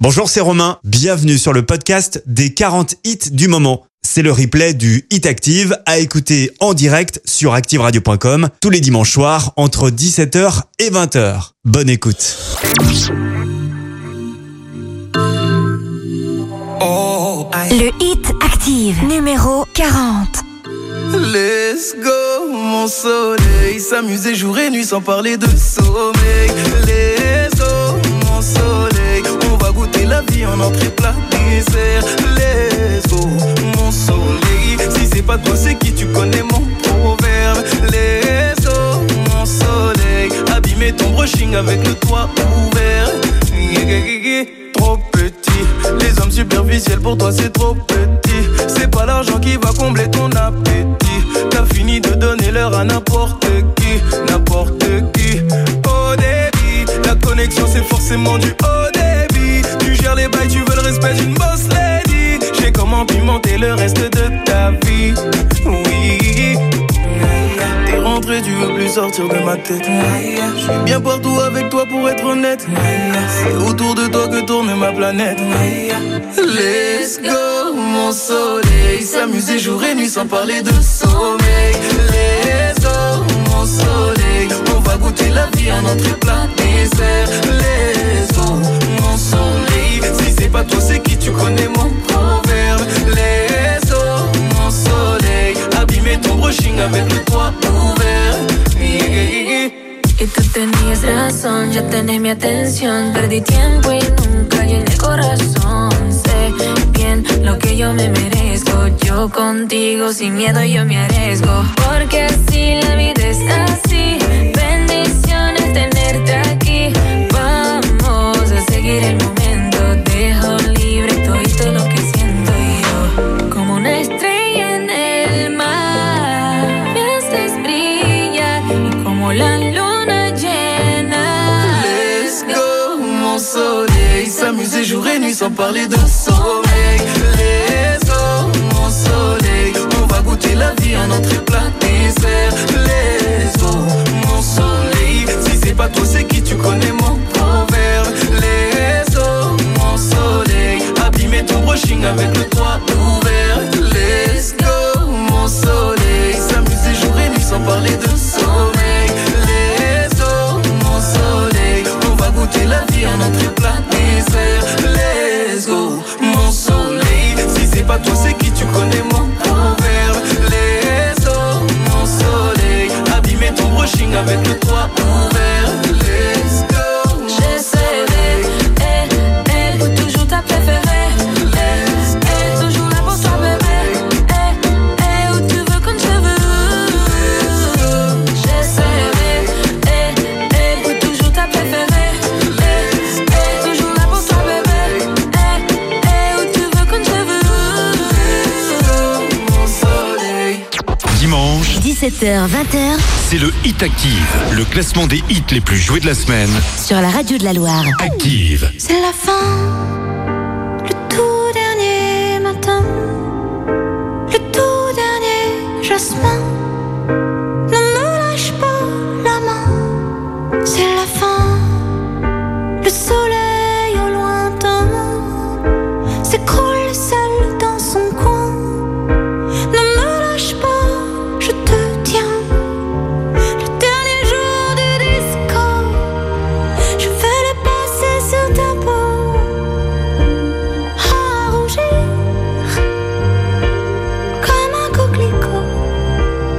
Bonjour, c'est Romain. Bienvenue sur le podcast des 40 hits du moment. C'est le replay du Hit Active à écouter en direct sur activeradio.com tous les dimanches soirs entre 17h et 20h. Bonne écoute. Le Hit Active, numéro 40. Let's go, mon soleil. S'amuser jour et nuit sans parler de sommeil. Let's go, mon soleil. On va goûter la vie en entrée plat dessert. Let's go, mon soleil. Si c'est pas toi, c'est qui? Tu connais mon proverbe. Let's go, mon soleil. Abîmer ton brushing avec le toit ouvert. Trop petit, les hommes superficiels pour toi c'est trop petit. C'est pas l'argent qui va combler ton appétit. T'as fini de donner l'heure à n'importe qui. Au débit, la connexion c'est forcément du haut débit. Tu gères les bails, tu veux le respect d'une boss lady. J'ai comment pimenter le reste de ta vie. Oui. T'es rentré, tu veux plus sortir de ma tête. Je suis bien partout avec toi pour être honnête. C'est autour de toi que tourne ma planète. Let's go, mon soleil. S'amuser jour et nuit sans parler de sommeil. Let's go, mon soleil. On va goûter la vie en entrée plat dessert. Let's go, mon soleil. Si c'est pas toi, c'est qui? Tu connais mon proverbe. Let's go, mon soleil. Abîmer ton brushing avec le toit ouvert. Y tú tenías razón, ya tenés mi atención. Perdí tiempo y nunca llené el corazón. Sé bien lo que yo me merezco. Yo contigo sin miedo yo me arriesgo. Porque así la vida es así. Bendiciones tenerte aquí. Vamos a seguir el momento. Dejo libre todo lo que siento yo. Como una estrella en el mar, me haces brillar y como la luna llena. Let's go, mon soleil. S'amuser jour et nuit sans parler de sommeil. Let's go, mon soleil. On va goûter la vie en entrée plat dessert. Let's go, mon soleil. Si c'est pas toi, c'est qui? Tu connais mon proverbe. Let's go, mon soleil. Abîmer ton brushing avec le toit ouvert. Let's go, mon soleil. S'amuser jour et nuit sans parler de sommeil. Let's go, mon soleil. On va goûter la vie en entrée plat dessert. Let's go, mon soleil. Si c'est pas toi, c'est qui? Tu connais mon proverbe. Let's go, mon soleil. Abîmer ton brushing avec le toit ouvert. Let's go, mon soleil. Pour toujours ta préférée. Toujours là pour toi bébé. Où tu veux quand je veux. J'essaierai. Pour toujours ta préférée. Toujours là pour toi bébé. Où tu veux quand je veux. Mon soleil. Dimanche, 17h-20h c'est le Hit Active, le classement des hits les plus joués de la semaine. sur la radio de la Loire. Active. C'est la fin, le tout dernier matin, le tout dernier jasmin. Ne me lâche pas la main, c'est la fin. Le soleil au lointain s'écroule seul dans son coin. Ne me lâche pas, je te tiens. Le dernier jour du disco, je vais le passer sur ta peau, à rougir comme un coquelicot.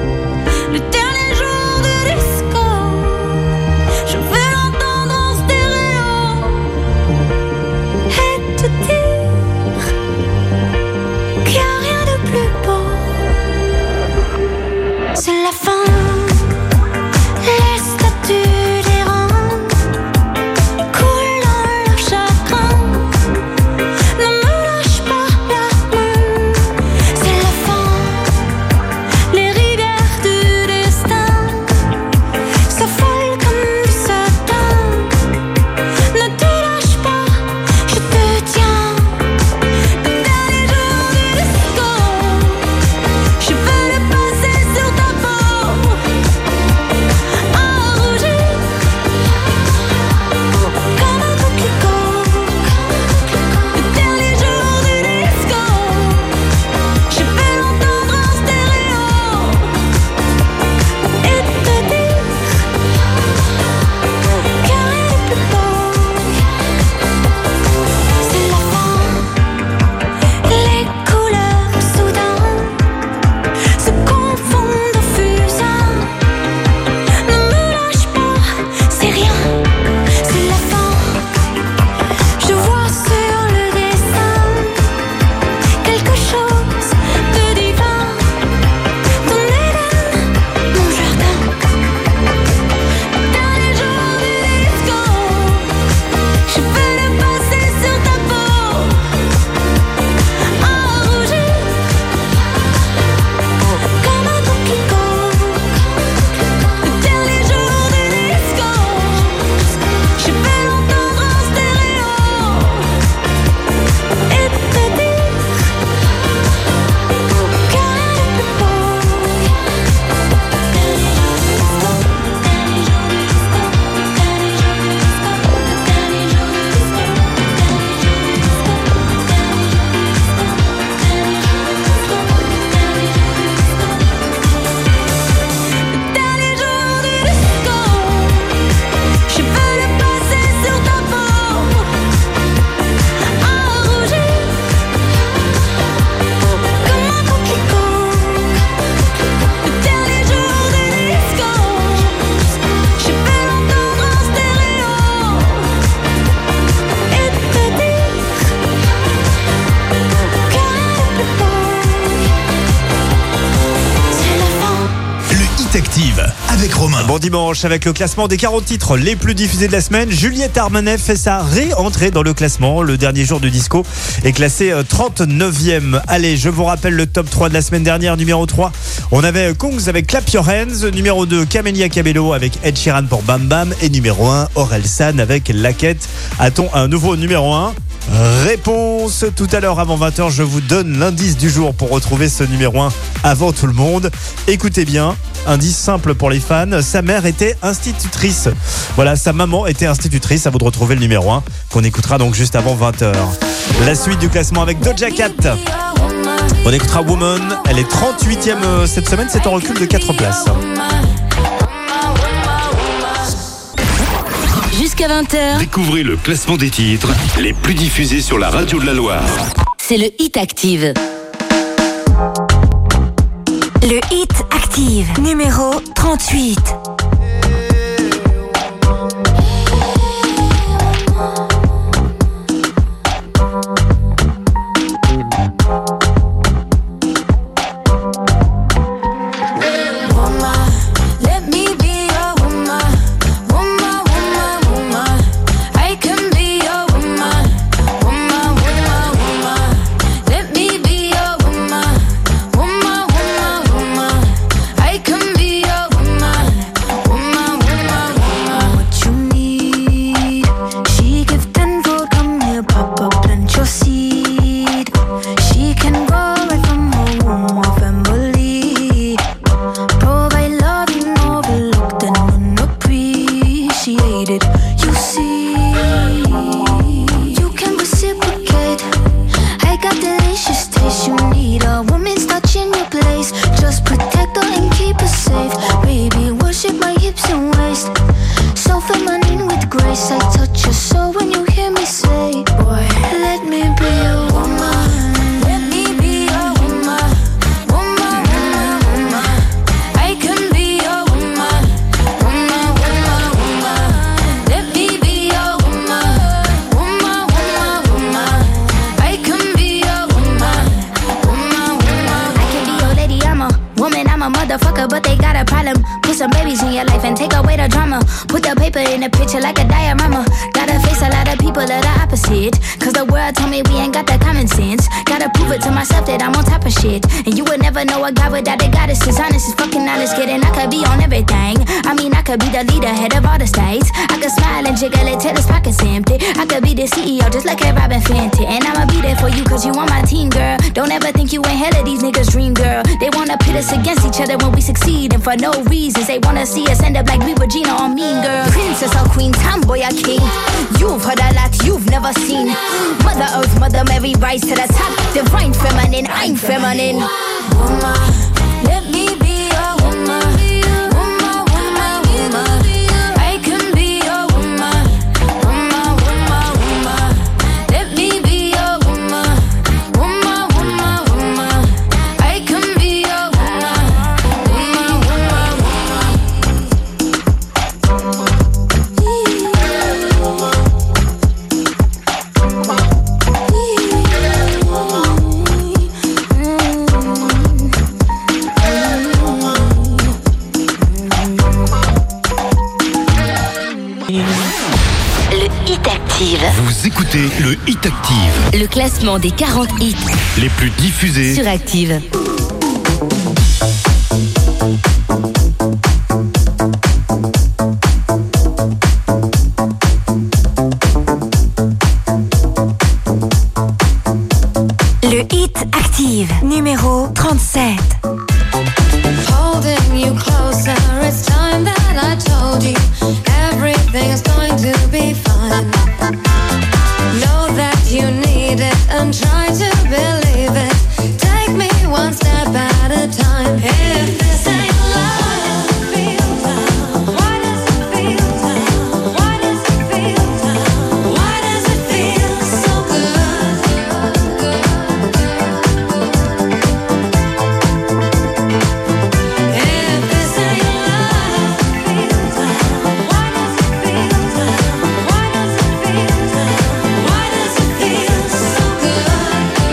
avec Romain. Bon dimanche avec le classement des 40 titres les plus diffusés de la semaine. Juliette Armanet fait sa réentrée dans le classement. Le dernier jour du disco est classé 39e. Allez, je vous rappelle le top 3 de la semaine dernière. Numéro 3, on avait Kungs avec Clap Your Hands. Numéro 2, Camelia Cabello avec Ed Sheeran pour Bam Bam. Et numéro 1, Orelsan avec La Quête. A-t-on un nouveau numéro 1 ? Réponse tout à l'heure avant 20h. Je vous donne l'indice du jour pour retrouver ce numéro 1 avant tout le monde. Écoutez bien, indice simple pour les fans, sa mère était institutrice. Voilà, sa maman était institutrice. À vous de retrouver le numéro 1 qu'on écoutera donc juste avant 20h. La suite du classement avec Doja Cat. On écoutera Woman. Elle est 38e cette semaine, c'est en recul de 4 places. Jusqu'à 20h, Découvrez le classement des titres les plus diffusés sur la radio de la Loire. c'est le Hit Active. Le Hit Active, numéro 38. For no reasons, they wanna see us end up like we were Gina or Mean Girl. Princess or queen, tomboy or king. You've heard a lot you've never seen. Mother Earth, Mother Mary, rise to the top. Divine feminine, I'm feminine. Woman, let me be your woman. Woman, woman, woman. I can be your woman. Woman, woman, woman. Let me be your woman. Woman, woman, woman. I can be your woman. Vous écoutez le Hit Active. Le classement des 40 hits Les plus diffusés sur Active. Le Hit Active, numéro 37. Holding you closer, it's time that I told you everything is going to be fine. Know that you need it and try to believe it. Take me one step at a time. If this ain't love, why does it feel down? Why does it feel down? Why does it feel so good? If this ain't love, why does it feel down? Why does it feel down? Why does it feel so good?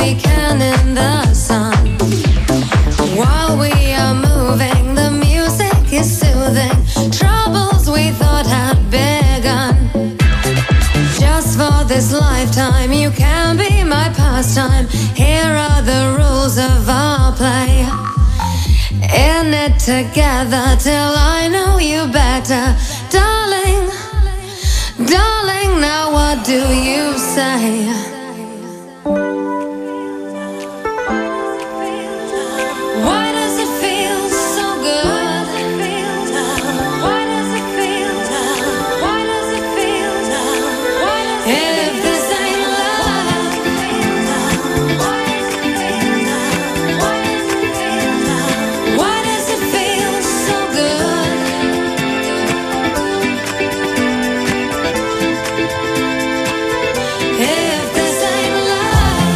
we can in the sun. While we are moving, the music is soothing. Troubles we thought had begun. Just for this lifetime, you can be my pastime. Here are the rules of our play. In it together till I know you better. Darling, darling, now what do you say? Why does it feel so good? Why does it feel? Why does it feel? If this ain't love, why does it feel so good? If this ain't love,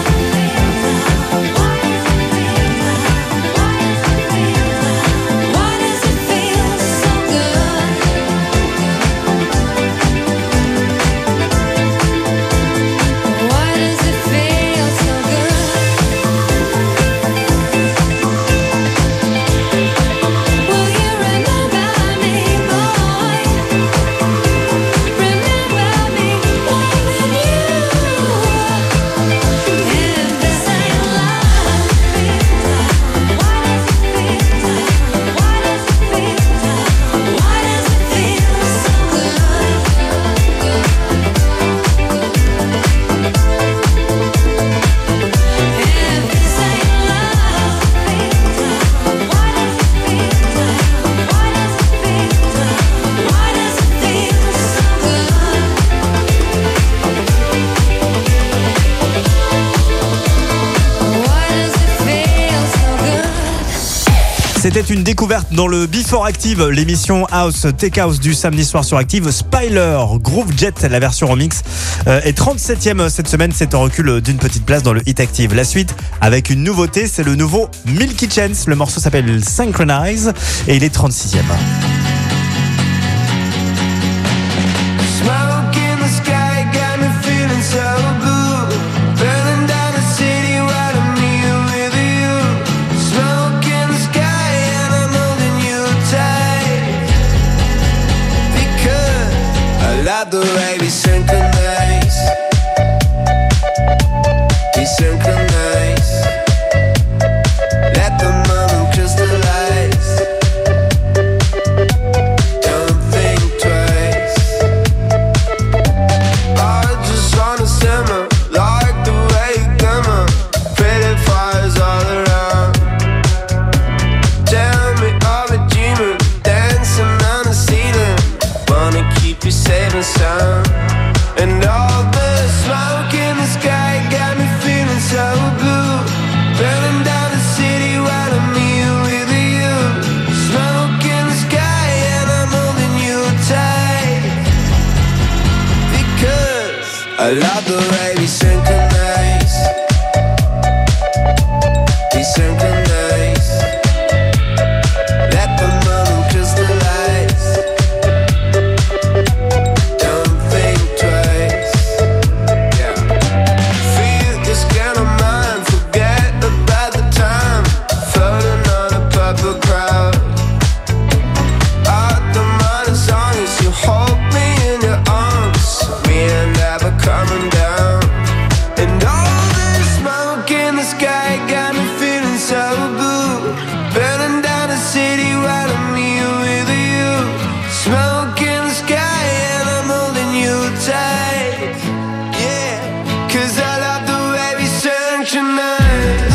why does it feel so good? Why does it feel so good? Will you remember me, boy? Remember me more than you. If this ain't love, why does it feel? Why does it feel? Why does it feel so good? If this ain't love, why does it feel? Why does it feel? Why does it feel so good? Why does it feel so good? C'était une découverte dans le Before Active, l'émission House Tech House du samedi soir sur Active. Spyler, Groove Jet, la version remix, est 37e cette semaine. C'est en recul d'une petite place dans le Hit Active. La suite avec une nouveauté, c'est le nouveau Milky Chance. Le morceau s'appelle Synchronize et il est 36e. Smoke in the sky got me feeling so blue. Burning down the city while I'm here with you. Smoke in the sky and I'm holding you tight. Because I love the way we synchronize. We synchronize. Let the moment crystallize. Don't think twice. I just wanna simmer like the way you glimmer. Pretty fires all around. Tell me I'm a dreamer, dancing on the ceiling. Wanna keep you safe and sound. And all the smoke in the sky got me feeling so blue. Burning down the city while I'm here with you. Smoke in the sky and I'm holding you tight. Because I love the way we synchronize. We synchronize. Let the moment crystallize. Don't think twice. Yeah. Feel this kind of mind. Forget about the time. Floating on a purple crowd. Out the minor song as you hold me in your arms. We ain't never coming down. And all this smoke in the sky got me feeling so blue. Burning down the city while I'm here with you. Smoke in the sky and I'm holding you tight. Yeah, 'cause I love the way we synchronize.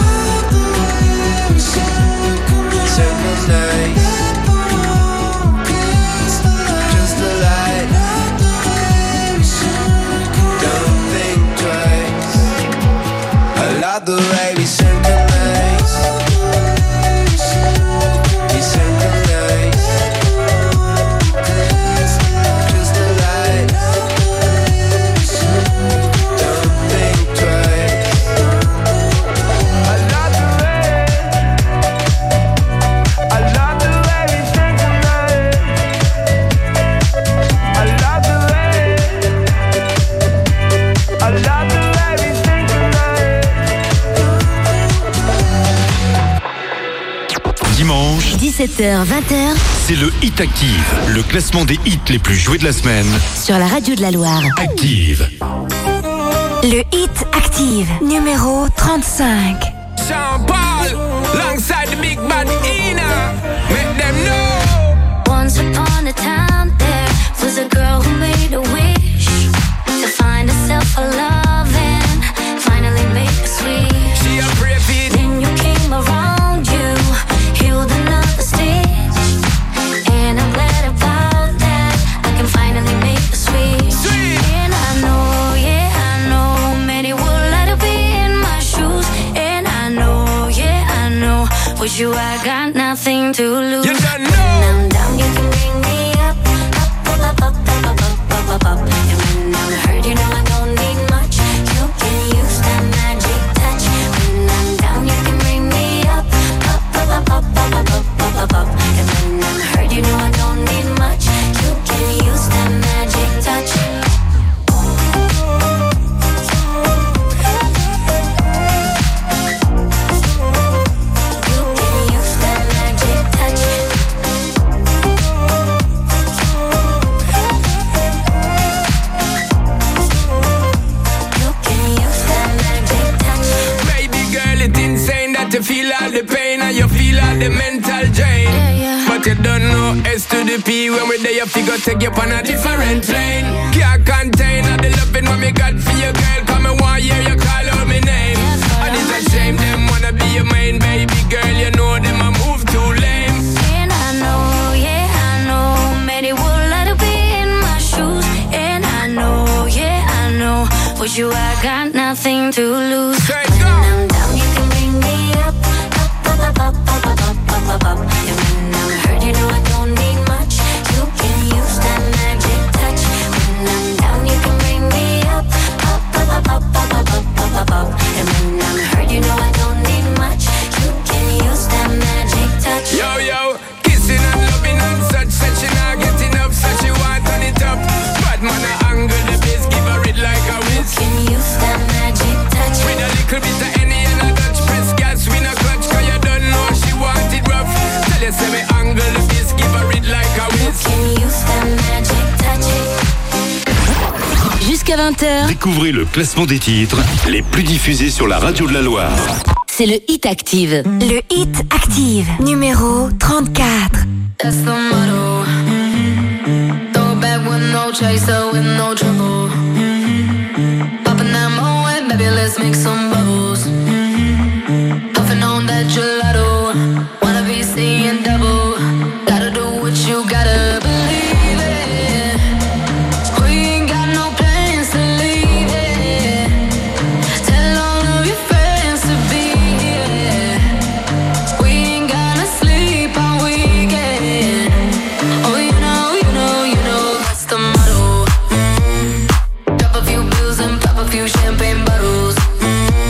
Synchronize. Crystallize. Don't think twice. I love the way we synchronize. We synchronize. Crystallize. Don't think twice. I love the way. I love the way we synchronize. I love the way. I love the way we synchronize. 17h, 20h. C'est le Hit Active, le classement des hits les plus joués de la semaine. Sur la radio de la Loire. Active. Le Hit Active, numéro 35. Sean Paul, alongside the big bad Ina. Make them know. Once upon a time there was a girl who made a wish to find herself a love and finally make a switch. She a brave it. Then you came around, you healed another stitch, and I'm glad about that. I can finally make a switch. Sweet. And I know, yeah, I know, many would like to be in my shoes. And I know, yeah, I know, with you I got nothing to lose. You don't know. When I'm down, you can bring me up, up, up, up, up, up, up, up, up. And when I'm hurt, you know I don't need much. You can use that magic touch. When I'm down, you can bring me up, up, up, up, up, up, up, up, up, up. And when I'm hurt, you know I don't need much. You can use that magic touch. You feel all the pain and you feel all the mental drain. But you don't know S to the P. When we're there you figure take you on a different plane. Can't contain all the loving what me got for you, girl. Come and one year you call out my name. And it's a shame them wanna be your main baby girl. You know them a move too lame. And I know, yeah, I know, many would like to be in my shoes. And I know, yeah, I know, with you I got nothing to lose. When I'm down, you can bring me up, up, up, up, up, up, up, up, up. And when I'm hurt, you know I don't need much. You can use that magic touch. When I'm down, you can bring me up, up, up, up, up, up, up, up, up, up. And when I'm hurt, you know I don't need much. You can use that magic touch. Yo, yo, kissing and loving and such. Said she not get enough, so she want turn it up. Bad man a angle the bass, give her it like a whiz. You can use that magic touch. With a little bit of any and a Dutch press gas, we no clutch, cause you don't know she want it rough. Tell you say me angle the bass, give her it like a whiz. You can use that magic touch. Jusqu'à 20h, Découvrez le classement des titres les plus diffusés sur la radio de la Loire. c'est le Hit Active. Le Hit Active, numéro 34. That's the motto. Throw it back with no chaser, with no trouble. Popping that Moet, baby, let's make some bubbles. Puffing on that gelato. Wanna be seeing double. Gotta do what you gotta believe it. We ain't got no plans to leave it. Tell all of your friends to be here. We ain't gonna sleep all weekend. Oh, you know, that's the motto. Drop a few bills and pop a few champagne bottles.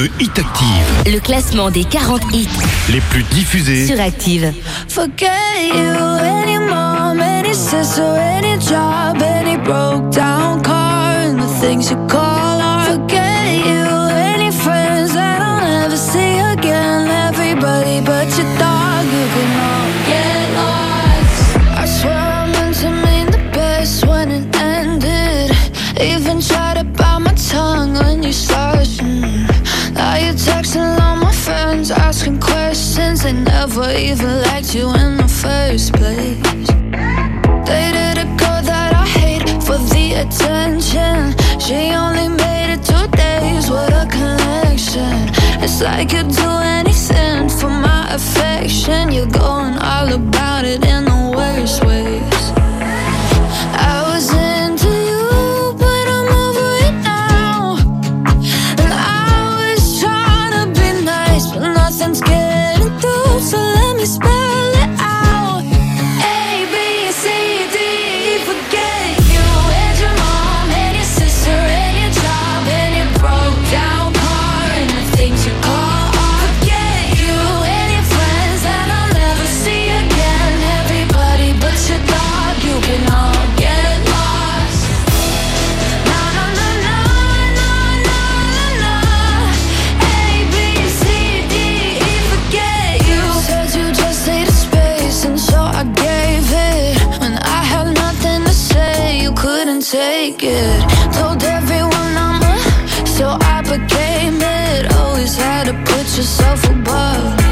le Hit Active. Le classement des 40 hits Les plus diffusés sur Active. Forget you, any mom, any sister, any job, any broke down car, and the things you call art. Forget you, any friends that I'll never see again. Everybody but your dog, you can all get lost. I swear I meant to mean the best when it ended. Even tried to bite my tongue when you started. Now you're texting all my friends, asking questions. They never even liked you in the first place. Dated a girl that I hate for the attention. She only made it 2 days, what a connection. It's like you'd do anything for my affection. You're going all about it in the worst ways. I was into you, but I'm over it now. And I was trying to be nice, but nothing's getting through, so let me spell it out. A, B, C, D, E, forget you. And your mom, and your sister, and your job, and your broke down car, and the things you call art. Forget you, and your friends that I'll never see again. Everybody but your dog, you can all get lost. Na na na na na na na. A, B, C, D, E, forget you. Said you just needed space, and so I gave it. When I had nothing to say, you couldn't take it. Told everyone I'm a, so I became it. Always had to put yourself above me.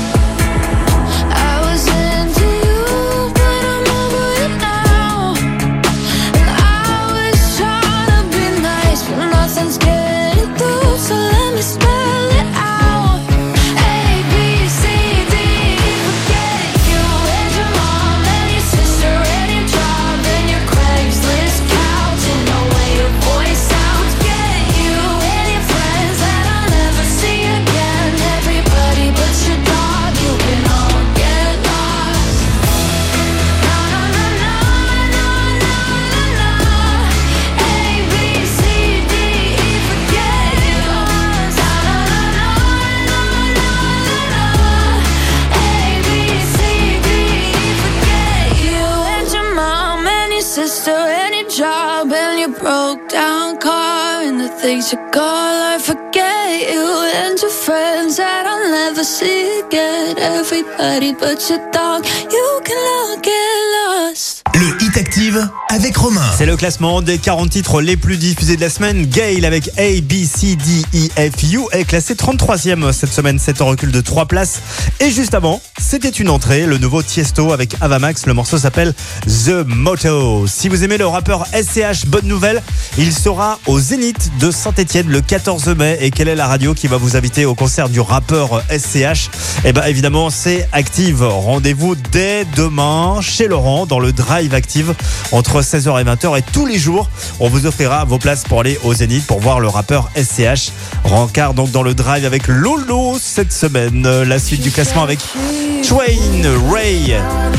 I was into you, but I'm over it now. And I was trying to be nice, but nothing's getting through, so let me spell it out. A, B, C, D, E, forget you. And your mom, and your sister, and your job, and your Craigslist couch, and the way your voice sounds. Get you, and your friends that I'll never see again. Everybody but your dog, you can all get lost. Na na na na na na na. A, B, C, D, E, forget you. Na na na na na na na. A, B, C, D, E, forget you. And your mom, and your sister, and your job, and your broke down car, and the things you call I forget you. And your friends that I'll never see again. Everybody but your dog, you can all get lost. Le Hit Active avec Romain. C'est le classement des 40 titres les plus diffusés de la semaine. Gail avec A, B, C, D, E, F, U est classé 33e cette semaine. C'est un recul de 3 places. Et juste avant, c'était une entrée. Le nouveau Tiesto avec Avamax. Le morceau s'appelle The Motto. Si vous aimez le rappeur SCH, bonne nouvelle. Il sera au Zénith de Saint-Etienne le 14 mai. Et quelle est la radio qui va vous inviter au concert du rappeur SCH? Eh ben, évidemment, c'est Active. Rendez-vous dès demain chez Laurent dans le Drive Active entre 16h et 20h, et tous les jours on vous offrira vos places pour aller au Zénith pour voir le rappeur SCH. Rencard donc dans le Drive avec Lolo cette semaine. La suite du classement avec Twain, Ray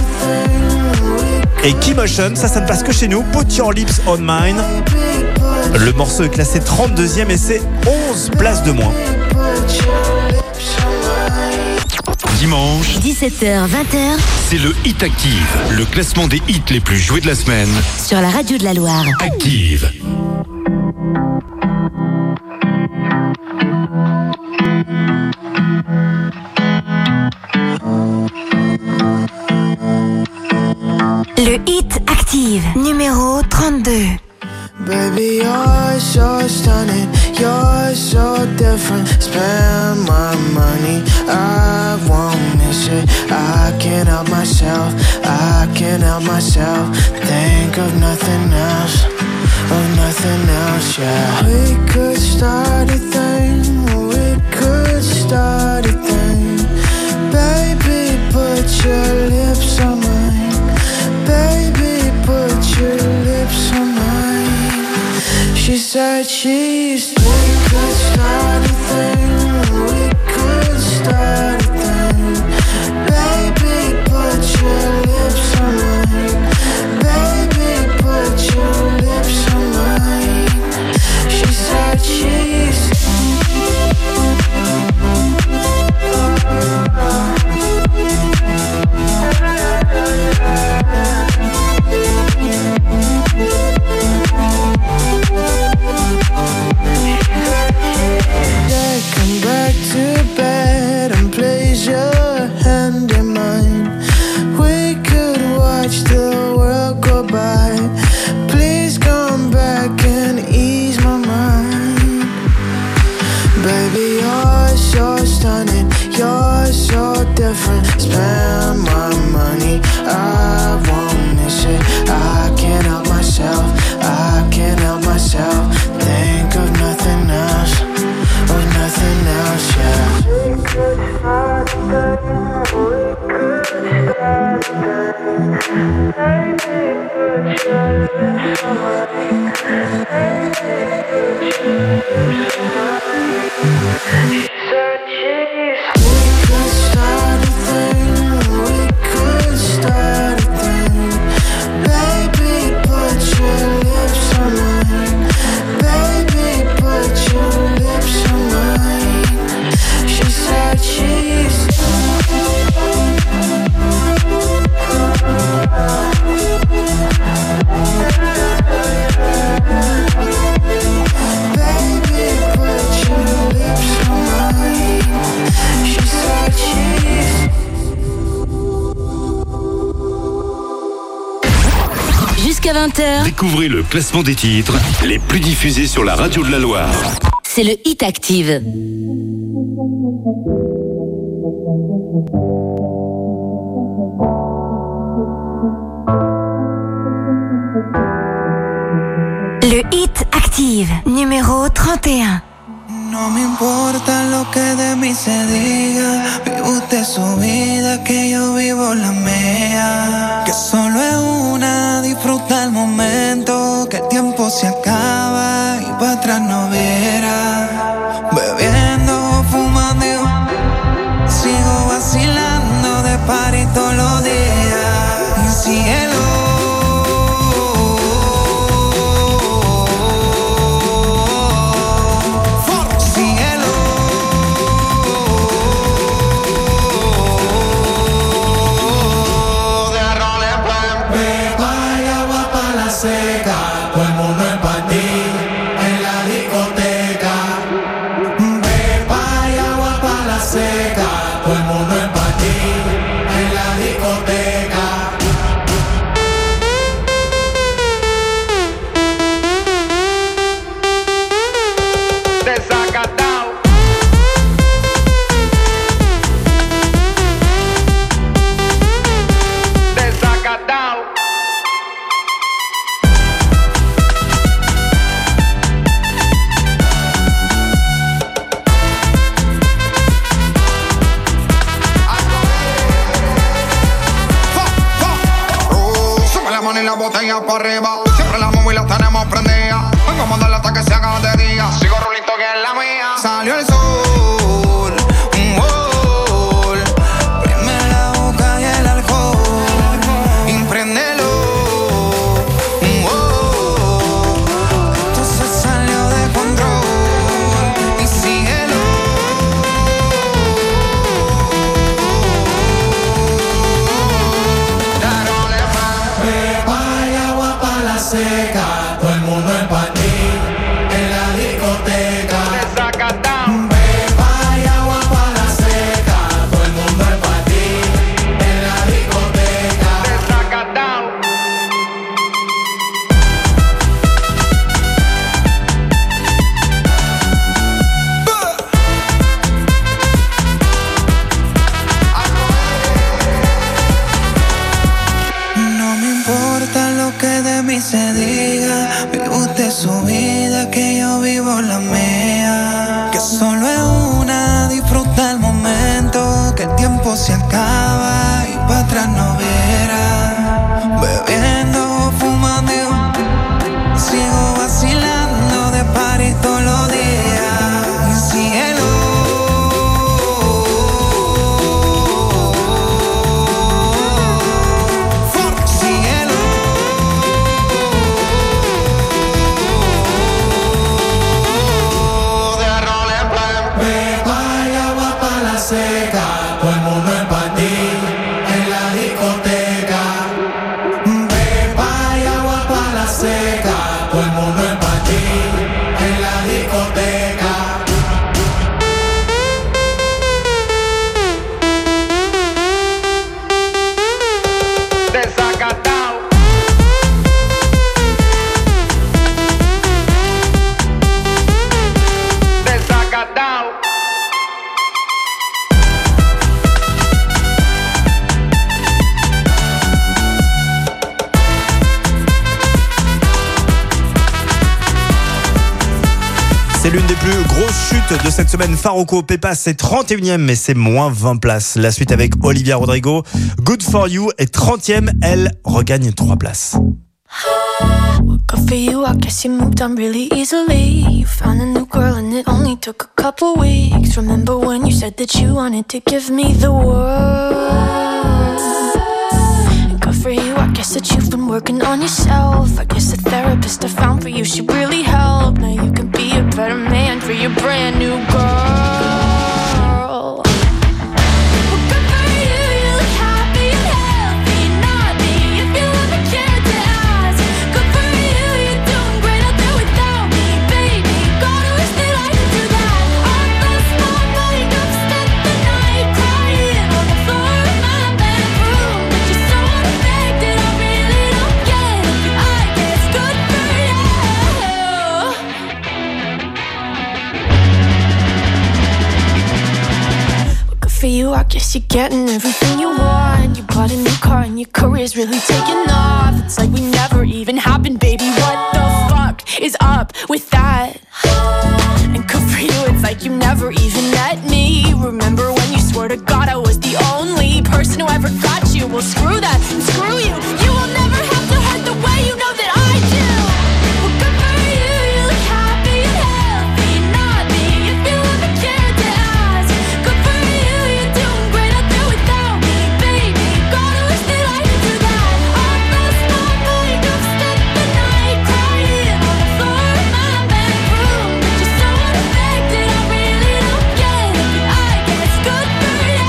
et Keymotion. Ça ne passe que chez nous. Put Your Lips on Mine. Le morceau est classé 32e et c'est 11 places de moins. Dimanche, 17h, 20h c'est le Hit Active, le classement des hits les plus joués de la semaine. sur la radio de la Loire. Active. Le Hit Active, numéro 32. Baby, you're so stunning, you're so different. Spend my money, I won't miss it. I can't help myself, I can't help myself. Think of nothing else, yeah. We could start a thing, we could start a thing. Baby, put your lips on mine. Baby, put your lips on mine. She said cheese. We could start a thing, we could start a thing. Baby, put your lips on mine. Baby, put your lips on mine. She said cheese. stunning. You're so different. Spend my money, I won't miss it. I can't help myself, I can't help myself. Think of nothing else, of nothing else, yeah. We could start again, we could start again. Baby, put your lips on mine. Baby, put your lips on mine. She said cheese. We could start a thing, we could start a thing. Baby, put your lips on mine. Baby, put your lips on mine. She said cheese. Baby, put your lips on mine. She said cheese. Jusqu'à 20h, Découvrez le classement des titres les plus diffusés sur la radio de la Loire. c'est le Hit Active. Le Hit Active, numéro 31. No me importa lo que de mí se diga, vive usted su vida, que yo vivo la mía. Que solo es una, disfruta el momento, que el tiempo se acaba y para atrás no verá. Bebiendo, fumando, sigo vacilando de party todos los días. Y cielo. Botella para arriba, siempre la móvil la tenemos prendida. Vengo a mandarla hasta que se haga de día. Sigo rulito que es la mía. Salió el sol, un gol. Prime la boca y el alcohol. Impréndelo, un gol. Esto se salió de control. Y síguelo. Seca, todo el mundo en panty, en la discoteca. Beba y agua para la seca, todo el mundo en panty, en la discoteca. No me importa lo que de mí se diga, vive usted su vida, que yo vivo la mía. Que solo es una, disfruta el momento, que el tiempo se acaba y para atrás no verá. Bebiendo, fumando, sigo vacilando de party todos los días. Y cielo. Seca, todo el mundo en panty. Grosse chute de cette semaine, Farruko Pepa, c'est 31e, mais c'est moins 20 places. La suite avec Olivia Rodrigo, Good For You est 30e, elle regagne 3 places. Good for you, I guess you moved on really easily. You found a new girl and it only took a couple weeks. Remember when you said that you wanted to give me the world? Good for you, I guess that you've been working on yourself. I guess the therapist I found for you should really help. Now you can be a better man for your brand new girl. For you, I guess you're getting everything you want. You bought a new car and your career's really taking off. It's like we never even happened, baby. What the fuck is up with that? And good for you, it's like you never even met me. Remember when you swore to God I was the only person who ever got you? Well, screw that and screw you. You will never have to hurt the way you know that I do. Well, good for you, you look happy and healthy. Not me, if you ever cared to ask. Good for you, you're doing great out there without me, baby. God, I wish that I could do that. I lost my mind, I've spent the night crying on the floor of my bedroom. But you're so unaffected, I really don't get it. But I guess good for you.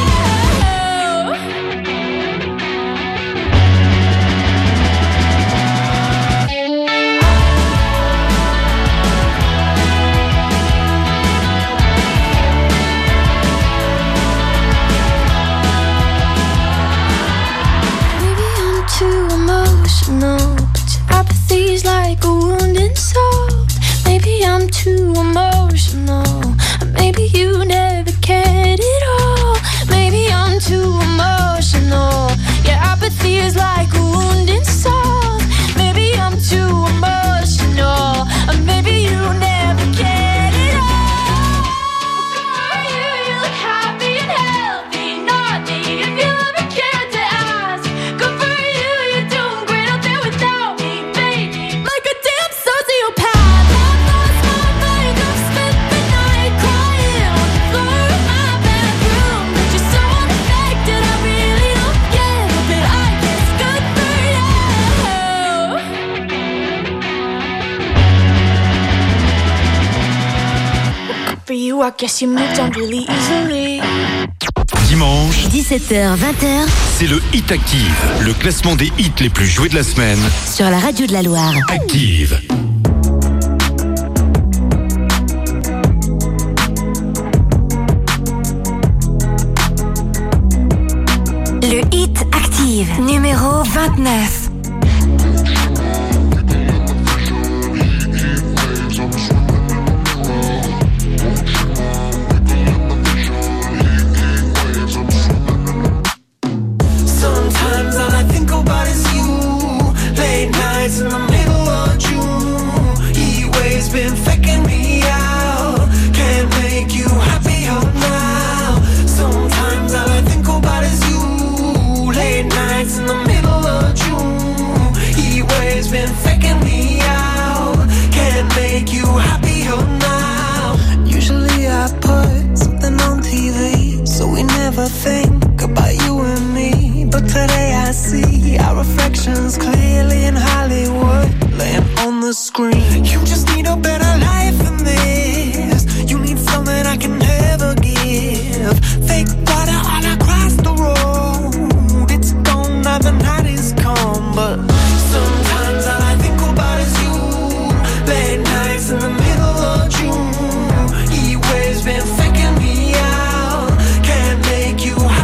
Maybe I'm too emotional, but your apathy's like a wounded soul. Maybe I'm too emotional, or maybe you never cared at all. Maybe I'm too emotional, your apathy is like a wounded soul. Maybe I'm too emotional, or maybe you never cared at all. You look happy and healthy, not me, if you ever cared to ask. Good for you, you're doing great out there without me, baby. Like a damn sociopath. I've lost my mind, I've spent the night crying on the floor of my bedroom. But you're so unaffected, I really don't get it. But I guess good for you. Good for you, I guess you moved on really easily. Dimanche, 17h, 20h c'est le Hit Active, le classement des hits les plus joués de la semaine. sur la radio de la Loire. Active. Le Hit Active, numéro 29. Sometimes all I think about is you. Late nights in the middle of June. He waves been faking me out. Can't make you happier now. Sometimes all I think about is you. Late nights in the middle of June. He waves been faking me out. Can't make you happier now. Usually I put something on TV, so we never think about you and me. But today I see our reflections clearly in Hollywood, laying on the screen. You just need a better life than this. You need something I can never give. Fake water all across the road. It's gone now, the night is come. But sometimes all I think about is you. Late nights in the middle of June. He waves been faking me out. Can't make you happy.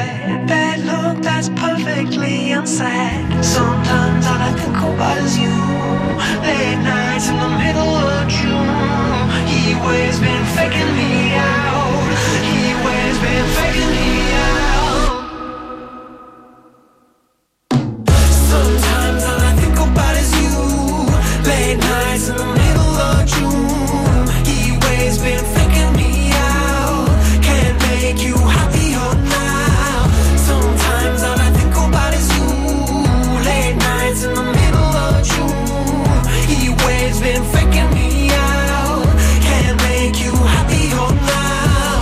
that bad look that's perfectly unsaid. Sometimes all I think about is you. Late nights in the middle of June. He always been faking me out. He always been faking me out. Sometimes all I think about is you. Late nights in the middle of June. He always been faking me out. Can't make you happier now. Sometimes all I think about is you. Late nights in the middle of June. He always been faking me out. Can't make you happier now.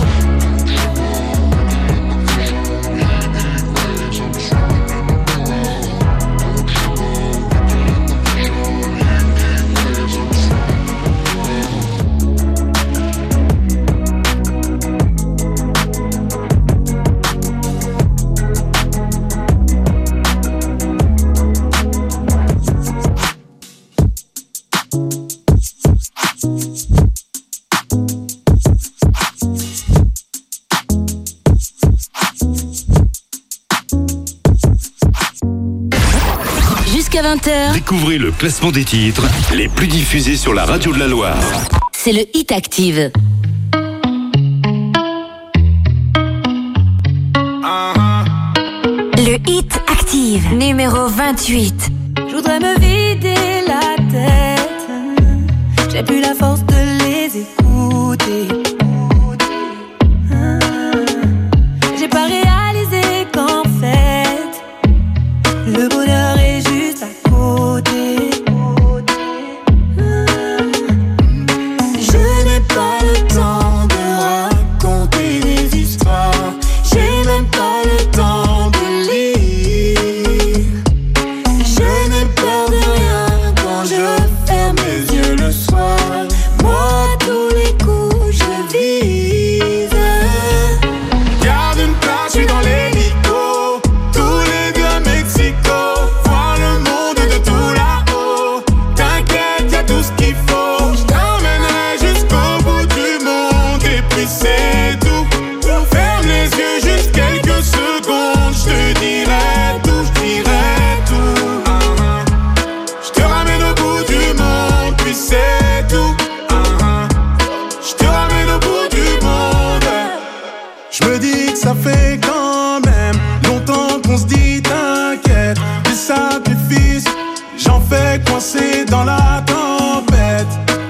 Jusqu'à 20h, Découvrez le classement des titres les plus diffusés sur la radio de la Loire. c'est le Hit Active. Le Hit Active, numéro 28. Je voudrais me vider la tête. J'ai plus la force de les écouter. J'ai pas réalisé qu'en fait le bonheur est juste à côté. Je n'ai pas le temps de raconter des histoires. J'ai même pas le temps de lire. Je n'ai peur de rien quand je ferme les yeux le soir. Moi, tous les coups, je vise. Garde une place, je suis dans l'hélico. Tous les deux à Mexico. Voir le monde de tout là-haut. T'inquiète, y'a tout ce qu'il faut. Je t'emmènerai jusqu'au bout du monde. Et puis c'est tout. Ferme les yeux juste quelques secondes. Je te dirai tout, je dirai tout. Je te ramène au bout du monde. Puis c'est tout. Je te ramène au bout du monde. Je me dis que ça fait quand même longtemps qu'on se dit t'inquiète. Des sacrifices, j'en fais coincer dans la tempête.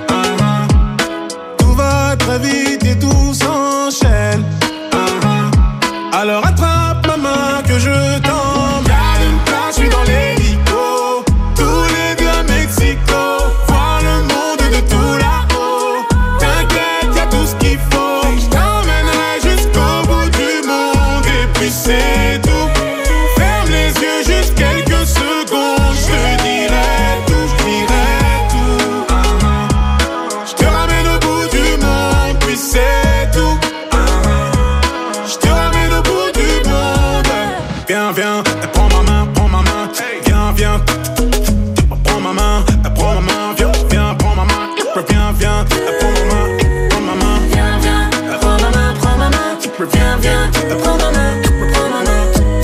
Tout va très vite et tout s'enchaîne. Alors attrape ma main que je t'emmène. Garde une place, je suis dans l'hélico. Tous les deux à Mexico. Voir le monde de tout là-haut. T'inquiète, y'a tout ce qu'il faut. Je t'emmènerai jusqu'au bout du monde. Et puis c'est tout. Ferme les yeux juste quelques secondes. Je te dirai tout, je dirai tout. Je te ramène au bout du monde. Puis c'est tout. Je te ramène au bout du monde. Viens, viens, prends ma main, prends ma main. Viens, viens, prends ma main, prends ma main. Viens, viens, prends ma main. Viens, viens, prends ma main, prends ma main. Viens, viens, prends ma main, prends ma main. Viens, viens, prends ma main, prends ma main.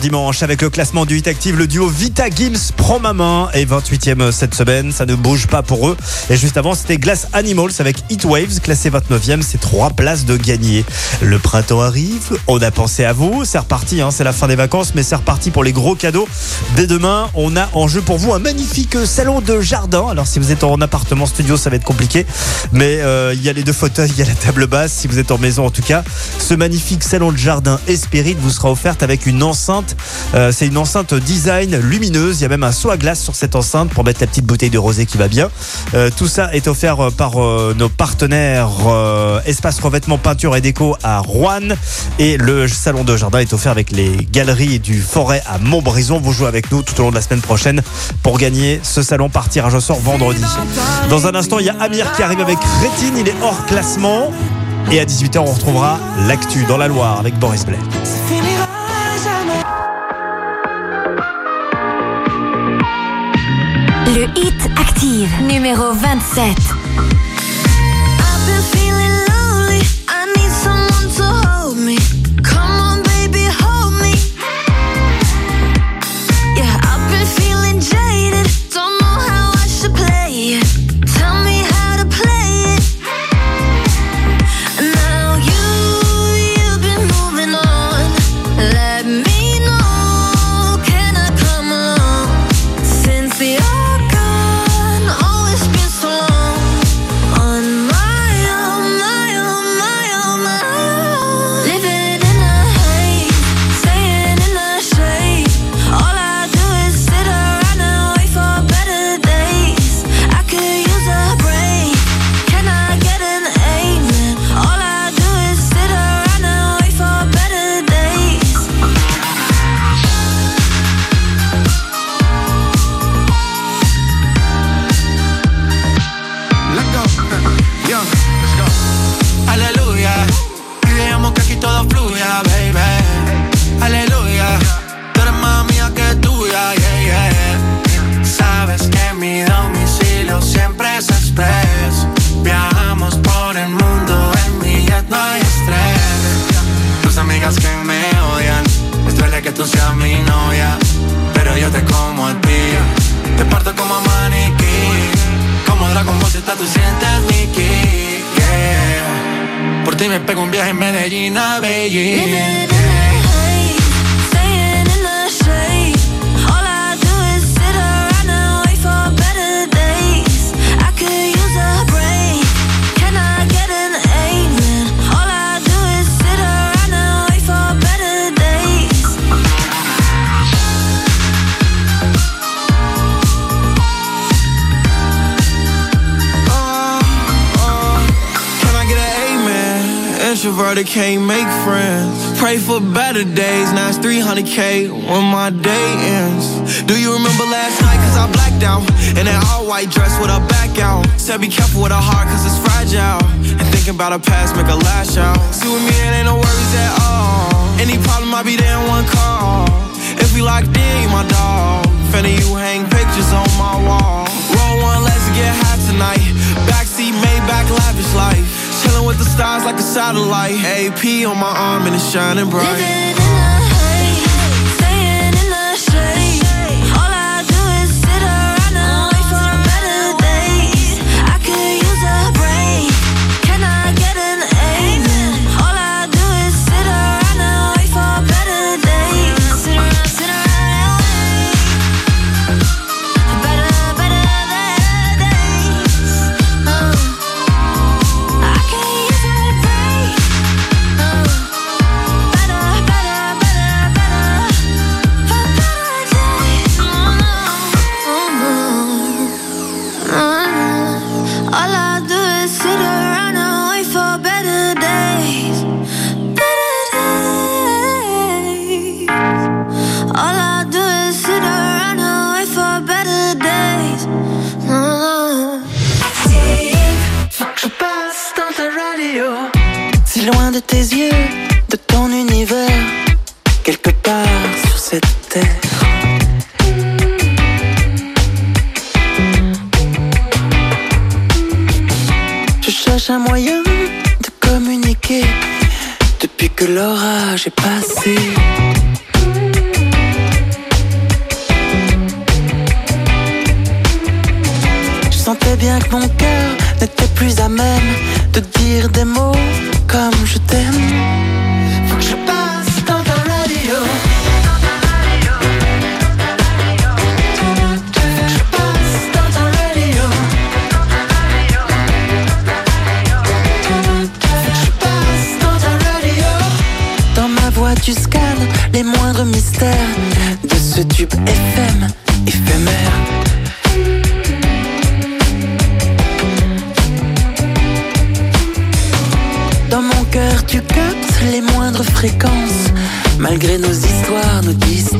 dimanche avec le classement du Hit Active. Le duo Vita Gims prend ma main et 28e cette semaine. Ça ne bouge pas pour eux. Et juste avant, c'était Glass Animals avec Heat Waves, classé 29e. C'est 3 places de gagné. Le printemps arrive. On a pensé à vous. C'est reparti. C'est la fin des vacances, mais c'est reparti pour les gros cadeaux. Dès demain, on a en jeu pour vous un magnifique salon de jardin. Alors, si vous êtes en appartement studio, ça va être compliqué. Mais il y a les 2 fauteuils, il y a la table basse. Si vous êtes en maison, en tout cas, ce magnifique salon de jardin Esprit vous sera offerte avec une enceinte. C'est une enceinte design lumineuse. Il y a même un seau à glace sur cette enceinte pour mettre la petite bouteille de rosé qui va bien. Tout ça est offert par nos partenaires Espace Revêtement Peinture et Déco à Roanne. Et le salon de jardin est offert avec les galeries du Forêt à Montbrison. Vous jouez avec nous tout au long de la semaine prochaine pour gagner ce salon par tirage au sort vendredi. Dans un instant, il y a Amir qui arrive avec Rétine. Il est hors classement. Et à 18h, on retrouvera l'actu dans la Loire avec Boris Blais. Le Hit Active, numéro 27. Introverted can't make friends. Pray for better days. Now it's 300K when my day ends. Do you remember last night? Cause I blacked out in that all white dress with a back out. Said be careful with a heart cause it's fragile. And thinking about a past make a lash out. See with me it ain't no worries at all. Any problem I'll be there in one call. If we locked in, you my dog. Finna you hang pictures on my wall. Roll one, let's get high tonight. Backseat, Maybach, lavish life. Chillin' with the stars like a satellite. AP on my arm and it's shining bright. Living in the haze, staying in the shade. All I do is sit around and wait for better days. I could use a break. Can I get an amen? All I do is sit around and wait for better days. Sit around and wait. Better loin de tes yeux, de ton univers, quelque part sur cette terre. Je cherche un moyen de communiquer depuis que l'orage est passé. savais bien que mon cœur n'était plus à même de dire des mots comme je t'aime. Faut que je passe dans ta radio. Tu scannes les moindres mystères de ce tube FM éphémère. Dans mon cœur tu captes les moindres fréquences, malgré nos histoires, nos distances.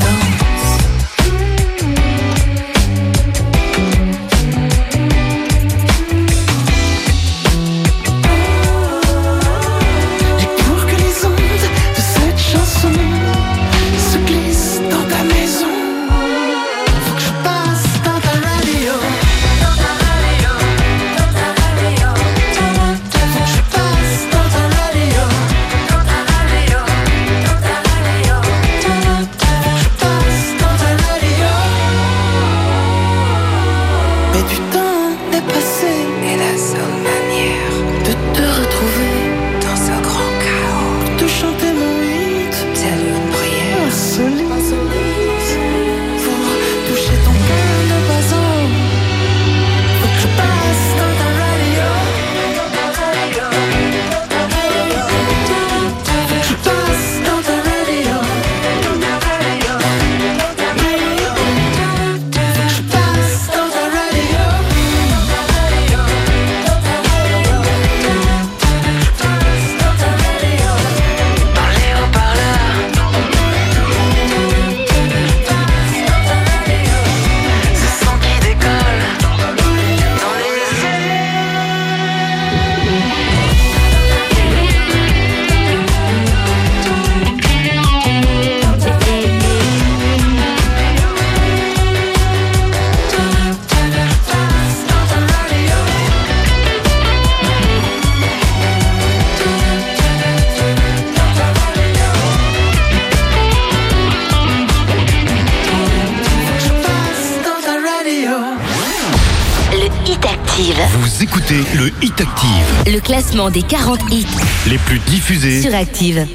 Vous écoutez le Hit Active. Le classement des 40 hits les plus diffusés sur Active.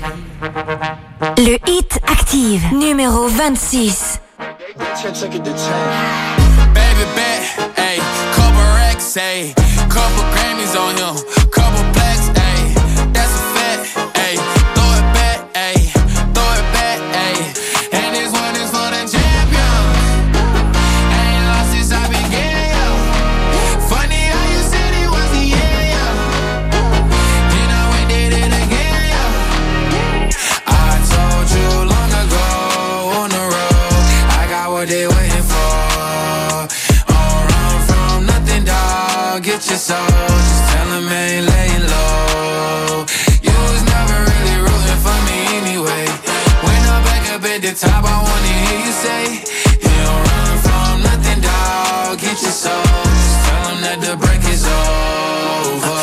Le Hit Active, numéro 26. Baby bet, ayy, couple racks, ayy, couple Grammys on him, couple plaques, ayy, that's a fact, ayy, throw it back, ayy, throw it back, ayy, and this one is for the champion. Ain't lost since I began, yo. Funny how you said it was the end, yo. Then I went did it again, yo. I told you long ago on the road, I got what they waiting for. Get your soul, just tell him I ain't laying low. You was never really rooting for me anyway. When I'm back up at the top, I wanna hear you say, you don't run from nothing, dawg. Get your soul, just tell him that the break is over.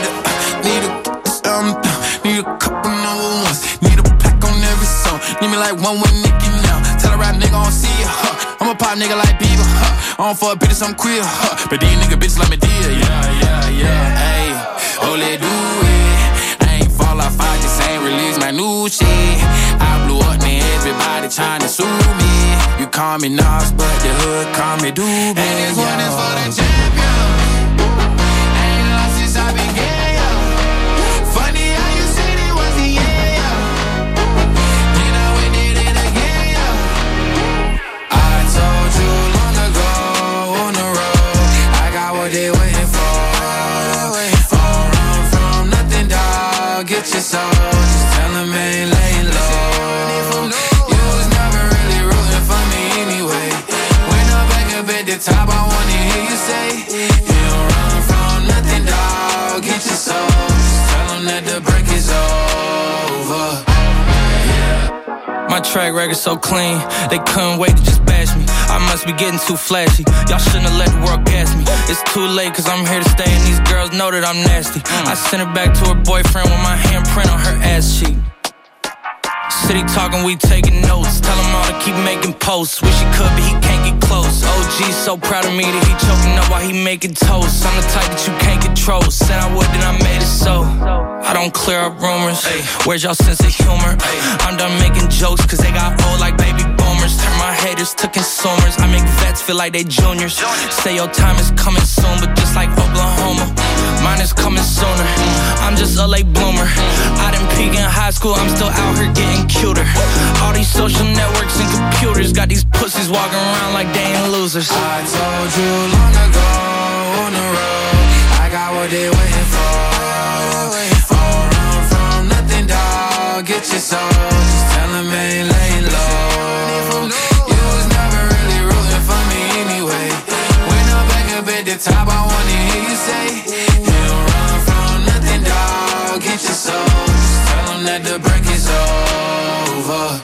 Need a couple number ones. Need a pack on every song. Need me like one with Nicki now. Tell a rap nigga I don't see ya, I'm a pop nigga like Bieber, I don't fuck bitches, I'm queer, but these nigga bitches like me dear, yeah, ayy, oh let do it. I ain't fall off, I just ain't release my new shit. I blew up, man, everybody tryna sue me. You call me Nas, but the hood call me Doobie. And this one is for the champion. Ain't lost since I began, yo. Funny how you said it was the end, yo. Then I went did it again, yo. I told you long ago on the road, I got what they waiting for. Don't run from nothing, dawg. Get your soul, just tell them I ain't laying low. You was never really rooting for me anyway. When I'm back up at the top, I wanna hear you say, you don't run from nothing, dawg. Get your soul, just tell them that the break is over. My track record so clean, they couldn't wait to just bash me. I must be getting too flashy, y'all shouldn't have let the world gas me. It's too late cause I'm here to stay and these girls know that I'm nasty. I sent her back to her boyfriend with my handprint on her ass cheek. City talking, we taking notes. Tell him all to keep making posts. Wish he could, but he can't get close. OG so proud of me that he choking up while he making toast. I'm the type that you can't control. Said I would, then I made it so. I don't clear up rumors. Where's y'all sense of humor? I'm done making jokes, cause they got old like baby boomers. Turn my haters to consumers. I make vets feel like they juniors. Say your time is coming soon, but just like Oklahoma, mine is coming sooner. I'm just a late bloomer. I didn't peak in high school, I'm still out here getting cuter. All these social networks and computers got these pussies walking around like they ain't losers. I told you long ago on the road, I got what they waiting for. Don't run from nothing, dog. Get your soul, just tell them ain't laying low. You was never really rooting for me anyway. When I'm back up at the top, I wanna hear you say, you don't run from nothing, dog. Get your soul, just tell them that the break is over.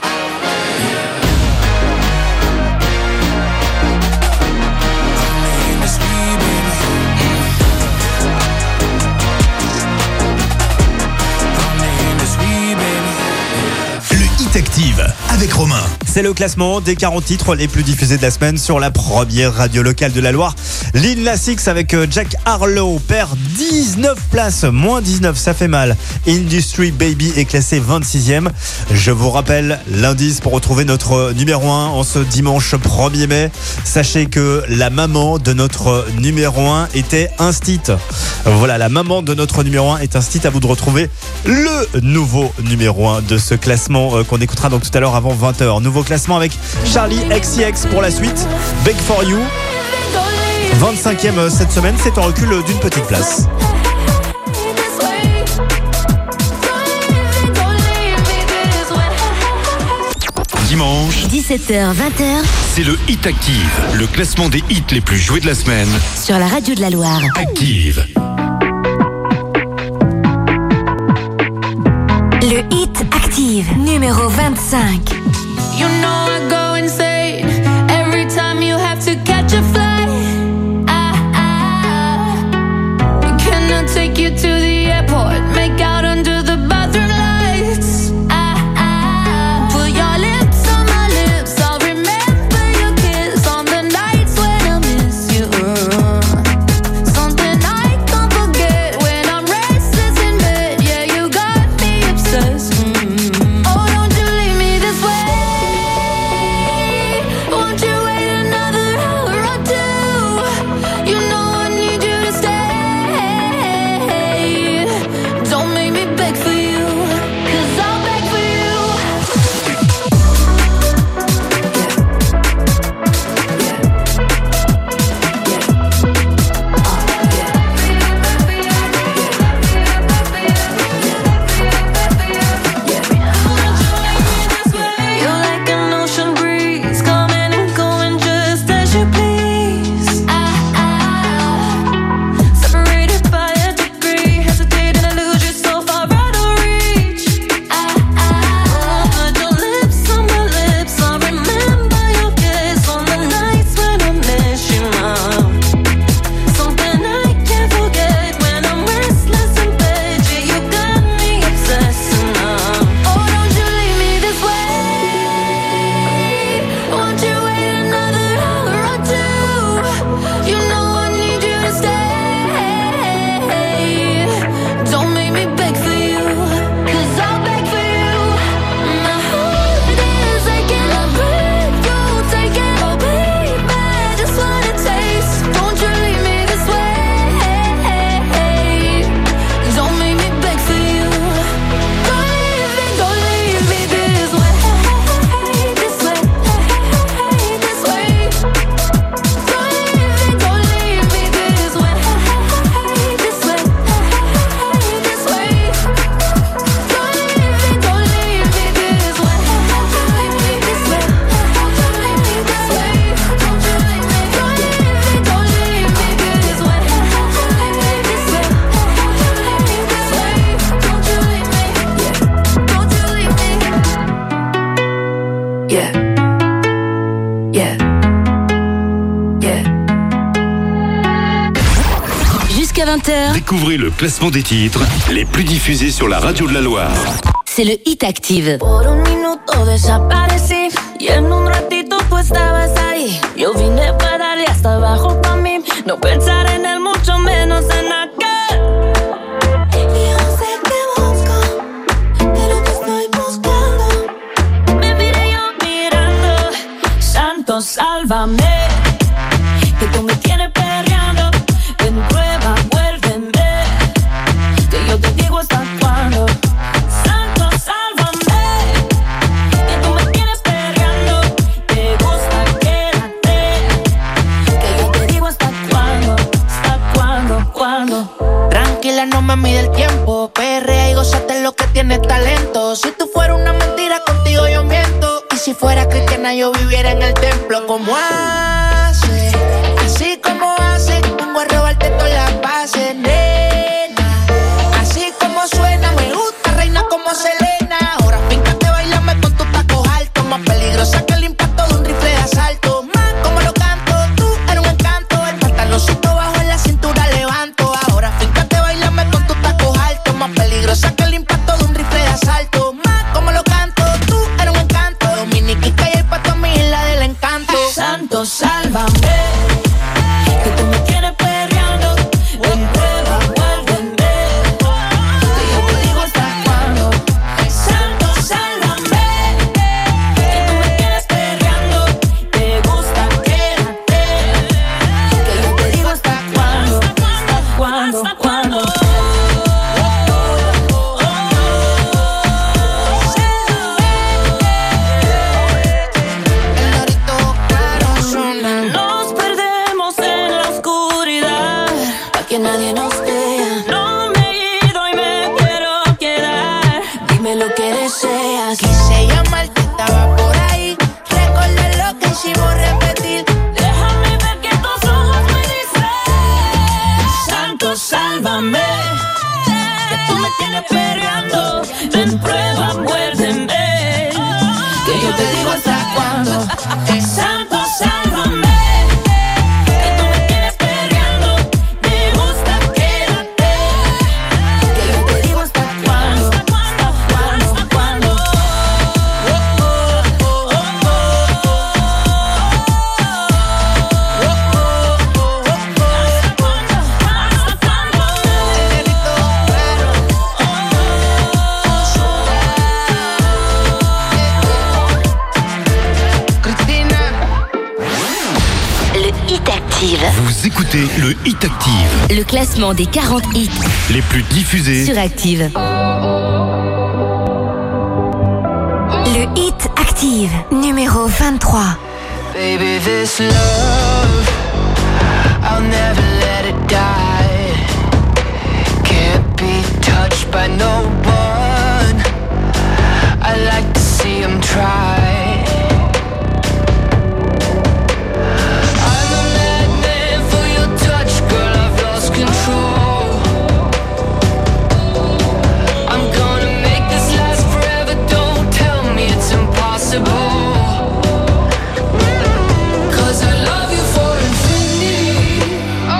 Active avec Romain. C'est le classement des 40 titres les plus diffusés de la semaine sur la première radio locale de la Loire. Lil Nas X avec Jack Harlow perd 19 places, moins 19, ça fait mal. Industry Baby est classé 26e. Je vous rappelle l'indice pour retrouver notre numéro 1 en ce dimanche 1er mai. Sachez que la maman de notre numéro 1 était instite. Voilà, la maman de notre numéro 1 est instite. À vous de retrouver le nouveau numéro 1 de ce classement qu'on écoutera donc tout à l'heure avant 20h. Nouveau classement avec Charlie XCX pour la suite. Beg for You. 25e cette semaine, c'est en recul d'une petite place. Dimanche, 17h-20h, c'est le Hit Active, le classement des hits les plus joués de la semaine. sur la radio de la Loire. Active. Le Hit Active, numéro 25. You know I go insane every time you have to catch a flight. Can I take you to the airport? Make out under the bathroom lights. Put your lips on my lips. I'll remember your kiss on the nights when I miss you. Something I can't forget when I'm restless in bed. Yeah, you got me obsessed. Oh, don't you leave me this way. Won't you wait another hour or two? You know I need you to stay. Don't make me beg for you, 'cause I'll beg for you. You're like an ocean breeze, coming and going just as you please. Separated by a degree, hesitating to lose you so far out of reach. Put your lips on my lips, I'll remember your kiss on the nights when I miss you now. Something I can't forget when I'm restless in bed. Yeah, you got me obsessed now. Oh, don't you leave me this way. Won't you wait another hour or two? You know I need you to stay. Don't make me beg for you, 'cause I'll beg for you. My heart is aching, I breathe, you take it. Oh baby, just wanna taste. Don't you leave me this way. Don't make me beg for you. Don't leave me this way. This way, this way. Don't leave me this way. This way, this way. Don't leave me this way. This way, don't leave me this way. Don't you leave me, don't leave me this way. This way, don't you leave me. Don't you leave me. Yeah. Yeah. Yeah. Jusqu'à 20h, Découvrez le classement des titres les plus diffusés sur la radio de la Loire. c'est le Hit Active. Por un minuto minuto desaparecí y en un ratito tú estabas ahí. Yo vine para darle hasta abajo pa' mí, no pensar en él, mucho menos en aquel. Yo sé que busco, pero te estoy buscando. Me miré yo mirando, santo sálvame, que tú me tienes perreando. Ven, prueba, vuélveme, que yo te digo hasta cuándo. Santo sálvame, que tú me tienes perreando. Te gusta, quédate, que yo te digo hasta cuándo. Cuándo. Tranquila, no me mide el tiempo. Perrea y gózate lo que tiene talento. Si tú fueras una mentira, contigo yo miento. Y si fuera cristiana, yo viviera en el templo. Como hace, así como hace, vengo a robarte todas las bases, nena. Así como suena, me gusta, reina como Selena. Ahora fíjate, bailame con tus tacos altos. Más peligrosa que el impacto de un rifle de asalto. Más como lo canto, tú eres un encanto. El pantaloncito bajo en la cintura levanto. Ahora fíjate, bailame con tus tacos altos. Más peligrosa que el impacto de un rifle de asalto. Más como lo canto, tú eres un encanto. Dominiquita y el pato a mi isla del encanto. Santo sálvame, que tú me tienes perreando. Ven, prueba, vuélveme, que yo te digo hasta cuándo. Santo sálvame, que tú me tienes perreando. Te gusta, quédate, que yo te digo hasta cuándo. Hasta cuándo. Nos perdemos en la oscuridad, pa' que nadie nos vea. No me he ido y me quiero quedar. Dime lo que deseas. Quise llamarte, estaba por ahí. Recordar lo que hicimos, repetir. Déjame ver que tus ojos me dicen. Santo, sálvame, que tú me tienes perreando. Ven, prueba, muérdeme, que yo te digo hasta cuándo. Santo, sálvame, que tú me tienes perreando. Me gusta, quédate, que yo te digo hasta cuándo. Hasta cuándo. Le Hit Active. Vous écoutez le Hit Active. Le classement des 40 hits Les plus diffusés sur Active. Le Hit Active, numéro 23. Baby, this love, I'll never let it die. Can't be touched by no one. I like to see him try. I'm a madman for your touch, girl, I've lost control. I'm gonna make this last forever, don't tell me it's impossible. I love you for infinity.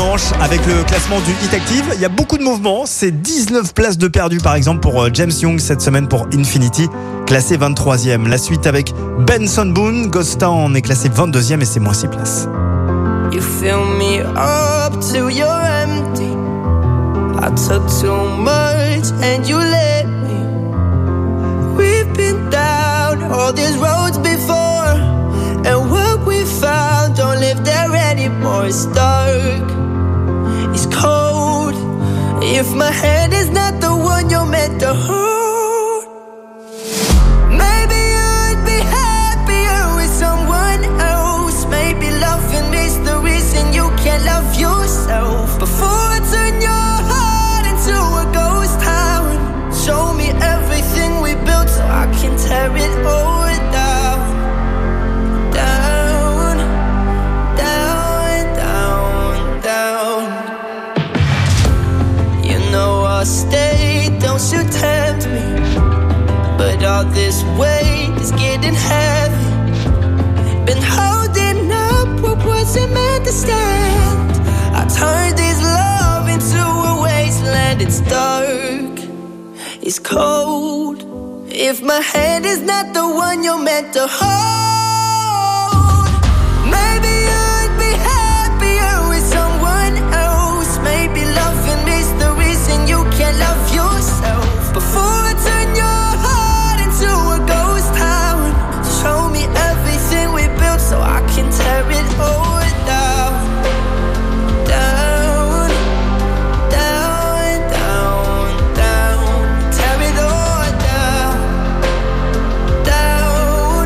dimanche avec le classement du Hit Active. Il y a beaucoup de mouvements. C'est 19 places de perdu par exemple pour James Young cette semaine pour Infinity, classé 23e. La suite avec Benson Boone, Ghost Town est classé 22e et c'est moins 6 places. You fill me up till you're empty. I took too much and you let me. We've been down all these roads before, and what we found don't live there anymore. It's dark, it's cold. If my hand is not the one you're meant to hold, maybe I'd be happier with someone else. Maybe loving is the reason you can't love yourself. Before I turn your heart into a ghost town, show me everything we built so I can tear it all down. Down, down, down, down. You know I'll stay, don't you tempt me, but all this weight is getting heavy. Been holding up what wasn't meant to stand. I turned this love into a wasteland. It's dark, it's cold. If my hand is not the one you're meant to hold, maybe I'd be happier with someone else. Maybe loving is the reason you can't love yourself. Before I turn your heart into a ghost town, show me everything we built so I can tear it all down. Down, down, down, down. Tear it all down. Down,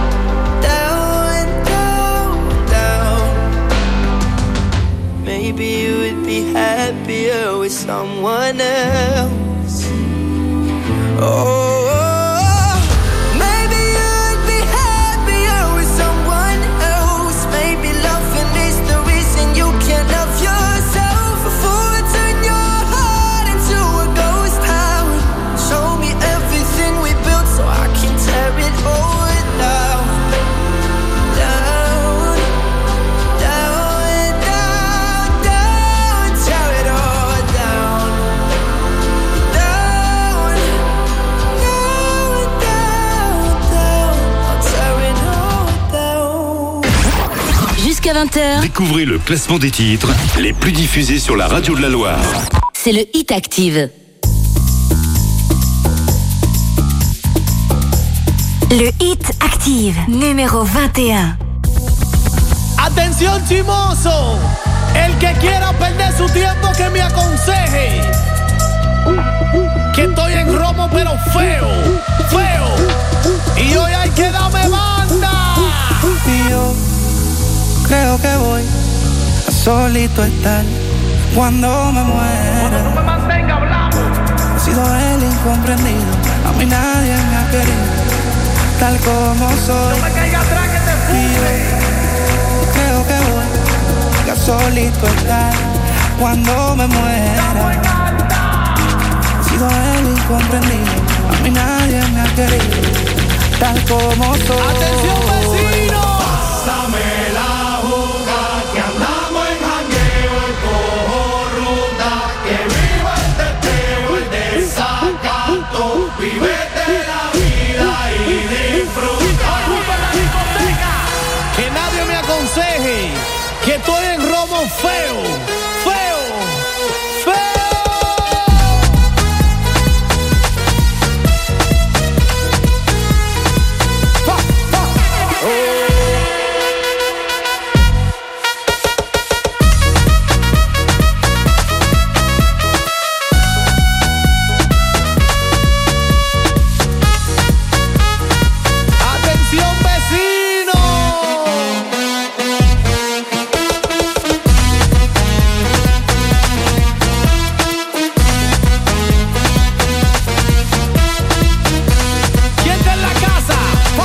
down, down, down. Maybe you would be happier with someone else. Oh, maybe you'd be happier with someone else. Maybe loving is the reason you can't love yourself. Before I turn your heart into a ghost town, show me everything we built so I can tear it all down. Down, down, down, down. Tear it all down. Down, down, down, down. I'll tear it all down. Jusqu'à 20h, Découvrez le classement des titres les plus diffusés sur la radio de la Loire. c'est le Hit Active. Le Hit Active, numéro 21. Atención chimoso, el que quiera perder su tiempo que me aconseje, que estoy en romo pero feo, feo, y hoy hay que darme banda. Y yo creo que voy a solito estar cuando me muera. No me mantenga hablando. He sido el incomprendido, a mí nadie me ha querido tal como soy. No me caiga atrás que te fui. Creo que voy a solito estar cuando me muera. He sido el incomprendido, a mí nadie me ha querido tal como soy. Atención vecino, Pásame la juca, que andamos en jangueo, el cojo ruta, que viva el teteo, el desacato, vívete la vida y disfruta. ocupa la discoteca, que nadie me aconseje, que estoy en romo feo, feo, feo. Atención vecino, ¿quién está en la casa?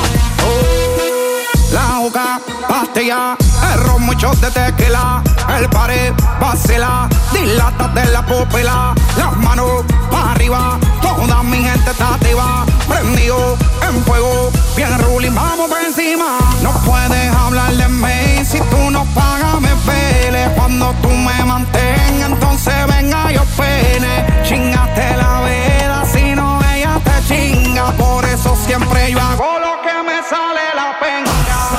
La juca, pastilla, el ron, muchos de tequila, el pared, vacila, dilátate la pupila, las manos para arriba, toda mi gente está activa, prendido en fuego, bien ruling, vamos por encima. No puedes hablar de mí, si tú no pagas me pele, cuando cuando tú me mantengas, entonces venga yo pene. Chingaste la vida, si no ella te chinga. Por eso siempre yo hago lo que me sale la penca.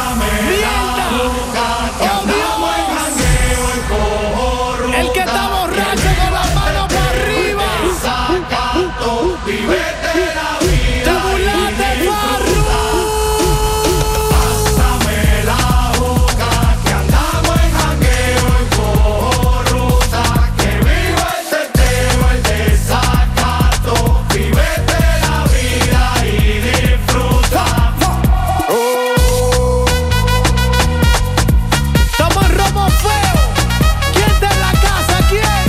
El que está borracho con las manos para arriba. Vivete la vida. Te burlaste, Farru. Pásame la boca, que andamos en jangueo y cojo ruta. Que viva el teteo, el desacato. Vivete la vida y disfruta. Estamos en Romo Feo. ¿Quién está en la casa? ¿Quién?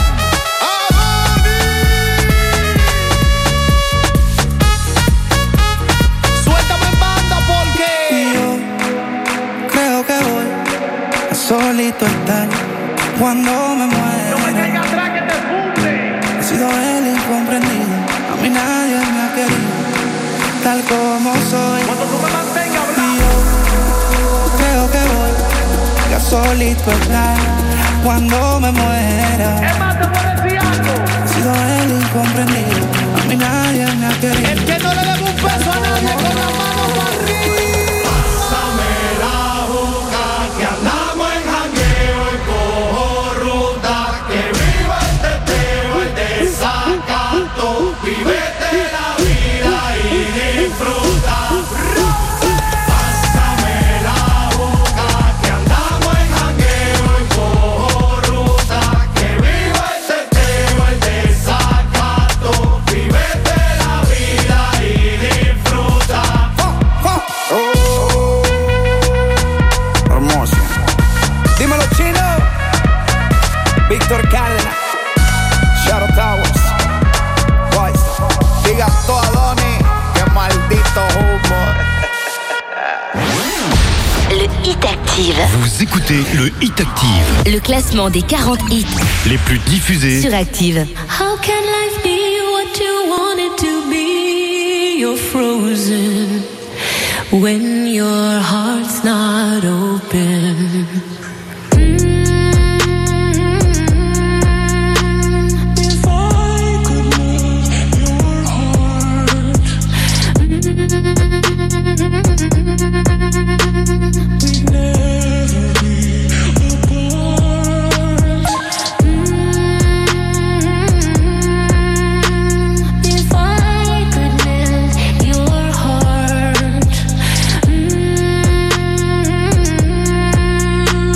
Suéltame en banda porque Yo creo que voy a solito estar cuando me muera. no me caiga atrás que te funde. He sido el incomprendido, a mí nadie me ha querido, tal como soy. Cuando tú me mantengas Y hablando. yo creo que voy a solito estar cuando me muera. Es más, te voy a decir algo. He sido el incomprendido, a mí nadie me ha querido. El que no le debe un peso a nadie con las manos para arriba. Pásame la boca, que andamos en jangueo y cojo ruta. Que viva el teteo, el desacato. Vivete la vida y disfruta. Pásame la boca, que andamos en jangueo y cojo ruta. Que viva el teteo, el desacato. Vivete la vida y disfruta. Hermoso. Dímelo, Chino. Víctor Cárdenas. Shadow Towers. Boys. Diga todo a Donny. Qué maldito humor. Le Hit Active. Vous écoutez le Hit Active, Le classement des 40 hits les plus diffusés sur Active. How can life be what you want it to be? You're frozen when your heart's not open. If I could move your heart, we'd never be apart. If I could melt your heart,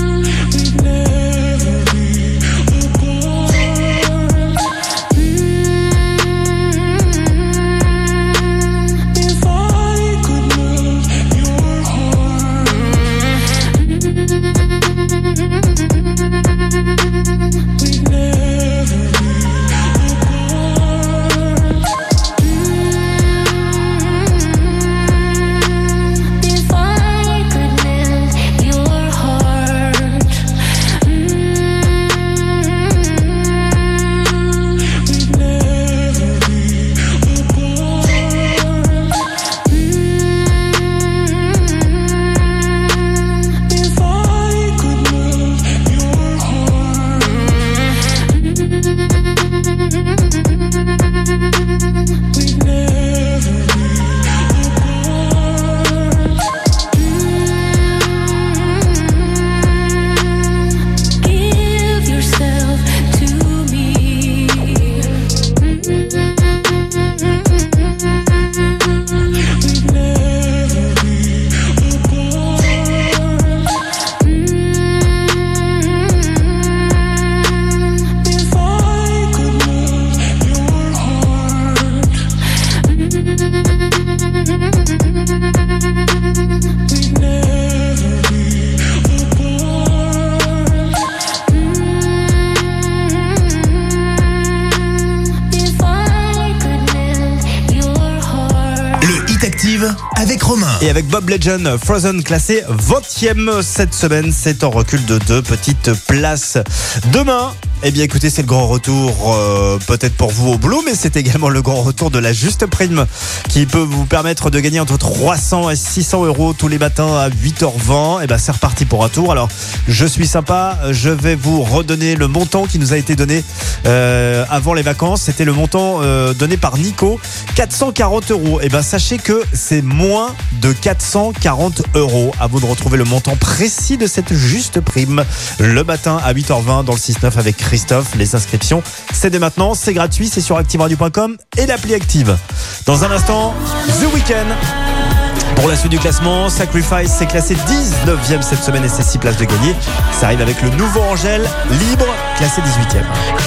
Active avec Romain. Et avec Bob Legend, Frozen classé 20e cette semaine, c'est en recul de 2 petites places. Demain, eh bien écoutez, c'est le grand retour, peut-être pour vous au boulot, mais c'est également le grand retour de la Juste Prime qui peut vous permettre de gagner entre 300 et 600 euros tous les matins à 8h20. Et ben c'est reparti pour un tour. Alors je suis sympa, je vais vous redonner le montant qui nous a été donné avant les vacances. C'était le montant donné par Nico, 440 euros. Et ben sachez que c'est moins de 440 euros. À vous de retrouver le montant précis de cette Juste Prime le matin à 8h20 dans le 6-9 avec Christophe. Les inscriptions, c'est dès maintenant, c'est gratuit, c'est sur activeradio.com et l'appli Active. Dans un instant, The Weeknd. Pour la suite du classement, Sacrifice s'est classé 19e cette semaine et c'est 6 places de gagner. Ça arrive avec le nouveau Angèle, Libre, classé 18e.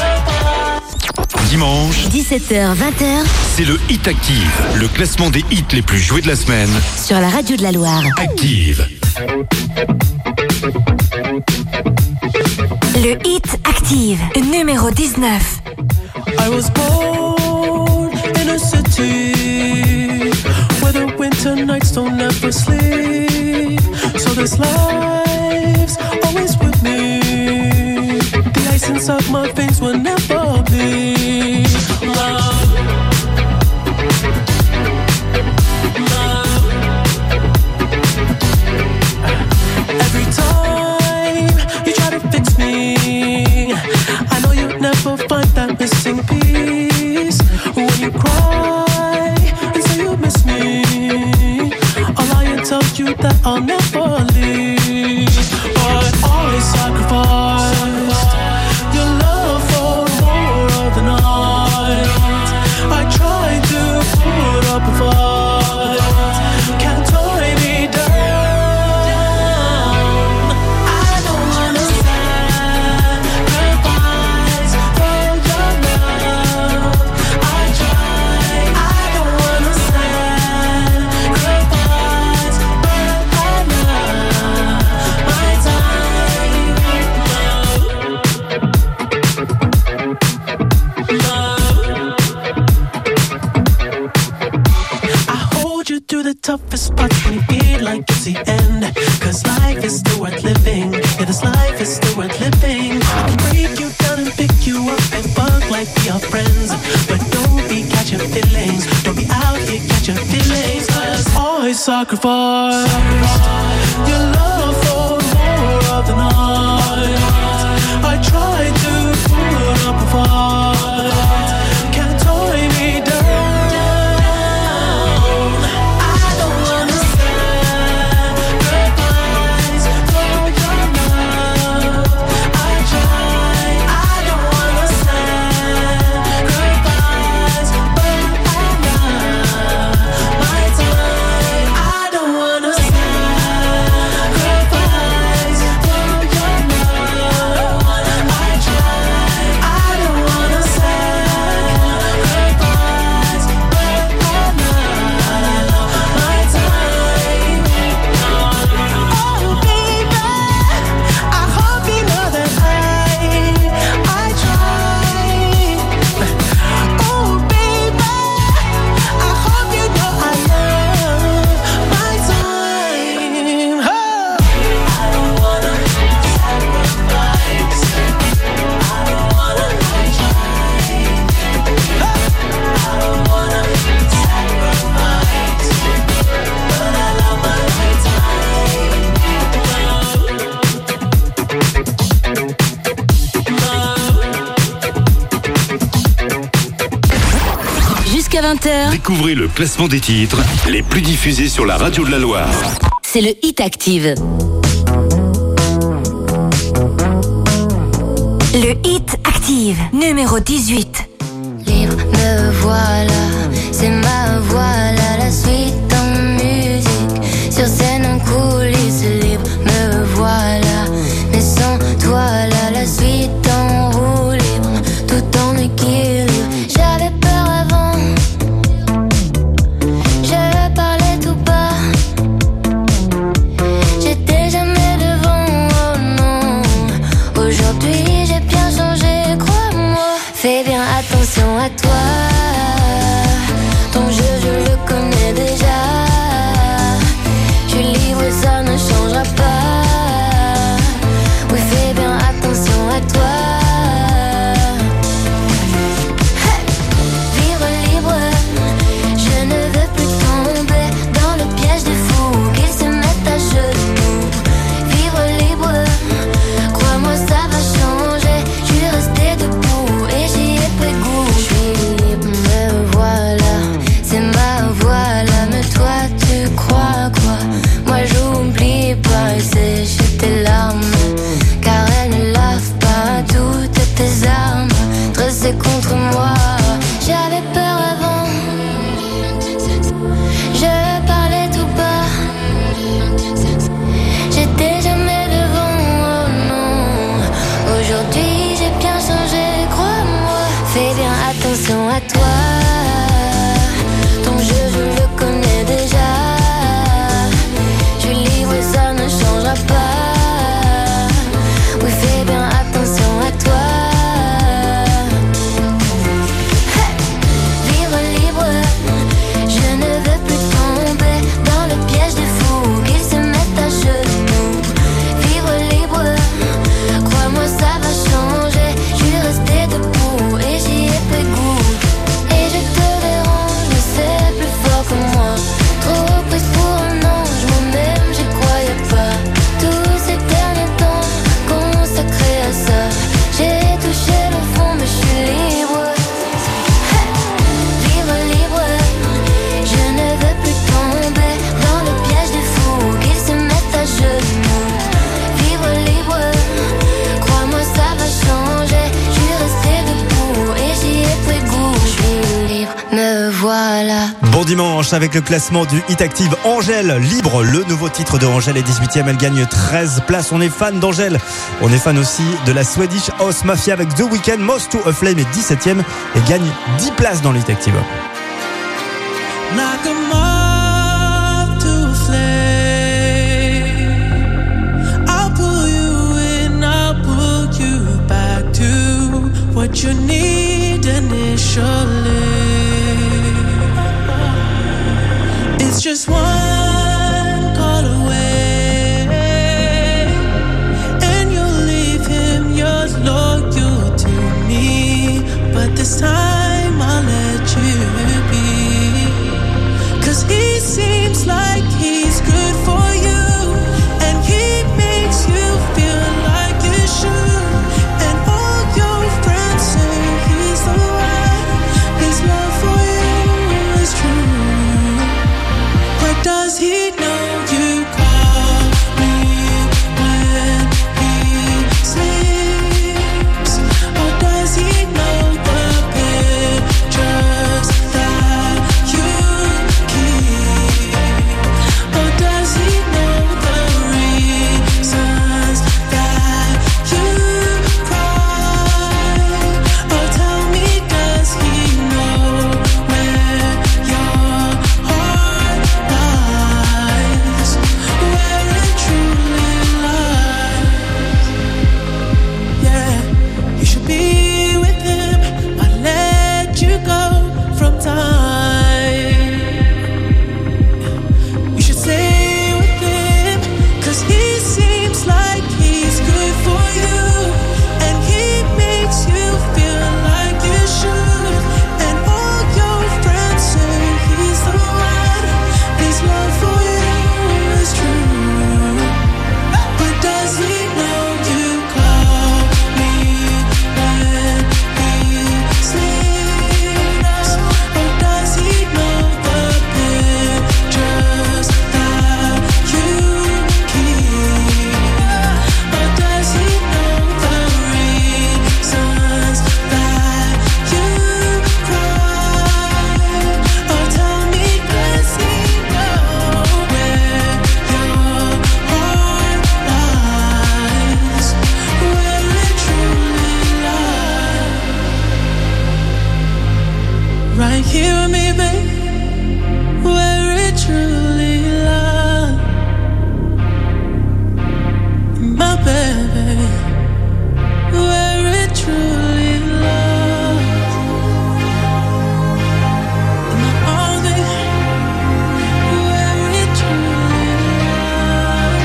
Dimanche, 17h-20h, c'est le Hit Active, le classement des hits les plus joués de la semaine. sur la radio de la Loire. Active. Le Hit Active, numéro 19. I was born in a city where the winter nights don't ever sleep. So this life's always with me. The ice inside my veins will never bleed. Love. Love. Every time you try to fix me, I know you'll never find that missing piece. When you cry and say you miss me, I'll lie and tell you that I'll never leave. But I sacrificed your love for more of the night. I tried to put up a fight, can't tie me down. I don't wanna sacrifice for your love. I try, I don't wanna sacrifice, but I love my time. I hold you through the toughest parts when you feel like it's the end. Cause life is still worth living. Yeah, this life is still worth living. I'll break you down and pick you up and fuck like we are friends. But don't be catching feelings. Don't be out here catching feelings. Cause I sacrifice your love for more of the night. I tried to put up a fight, can't tie me down. I don't wanna sacrifice for your love. I try, I don't wanna sacrifice, but I love my time. I don't wanna sacrifice for your love. I try, I don't wanna sacrifice, but I love my time. Oh baby, I hope you know that I try. Oh baby, I hope you know I love my time. I don't wanna sacrifice. I don't wanna try. I don't wanna sacrifice, but I love my Jusqu'à 20h, Découvrez le classement des titres les plus diffusés sur la radio de la Loire. c'est le Hit Active. Le Hit Active, numéro 18. Libre, me voilà, c'est ma voix là, la suite en musique. Sur scène en coulisses, libre, me voilà. Mais sans toi là, la suite en roue libre, tout en équilibre. J'avais peur avant, je parlais tout bas. J'étais jamais devant, oh non. Aujourd'hui j'ai bien changé, crois-moi. Fais bien attention à toi. Ton jeu je le connais déjà. dimanche avec le classement du Hit Active. Angèle, Libre, le nouveau titre de Angèle est 18e, elle gagne 13 places. On est fan d'Angèle, on est fan aussi de la Swedish House Mafia avec The Weeknd. Moth to a Flame est 17e et gagne 10 places dans le Hit Active. Like a moth to a flame, I'll pull you in, I'll pull you back to what you need initially. It's just one call away, and you'll leave him, you're loyal to me, but this time I'll let you be. 'Cause he seems like he's good for you, and he makes you feel like you should. And all your friends say he's the one, his love for you is true. But does he know you call me when he sleeps? Or does he know the pictures that you keep? Or does he know the reasons that you cry? Or tell me, does he know where your heart lies? Where it truly lies? Yeah, you should be with him, but let you go from time. You should stay with him, 'cause he seems like he's good for you, and he makes you feel like you should. And all your friends say he's the one, his love for you is true. But does he know you call me when he sleeps? Or does he know the pictures that you keep? Or does he know the reasons that you cry? Or tell me, does he know where your heart lies? Where it truly lies? Right here with me, babe, where it truly lies. My baby, where it truly lies. In my arms, baby, where it truly lies.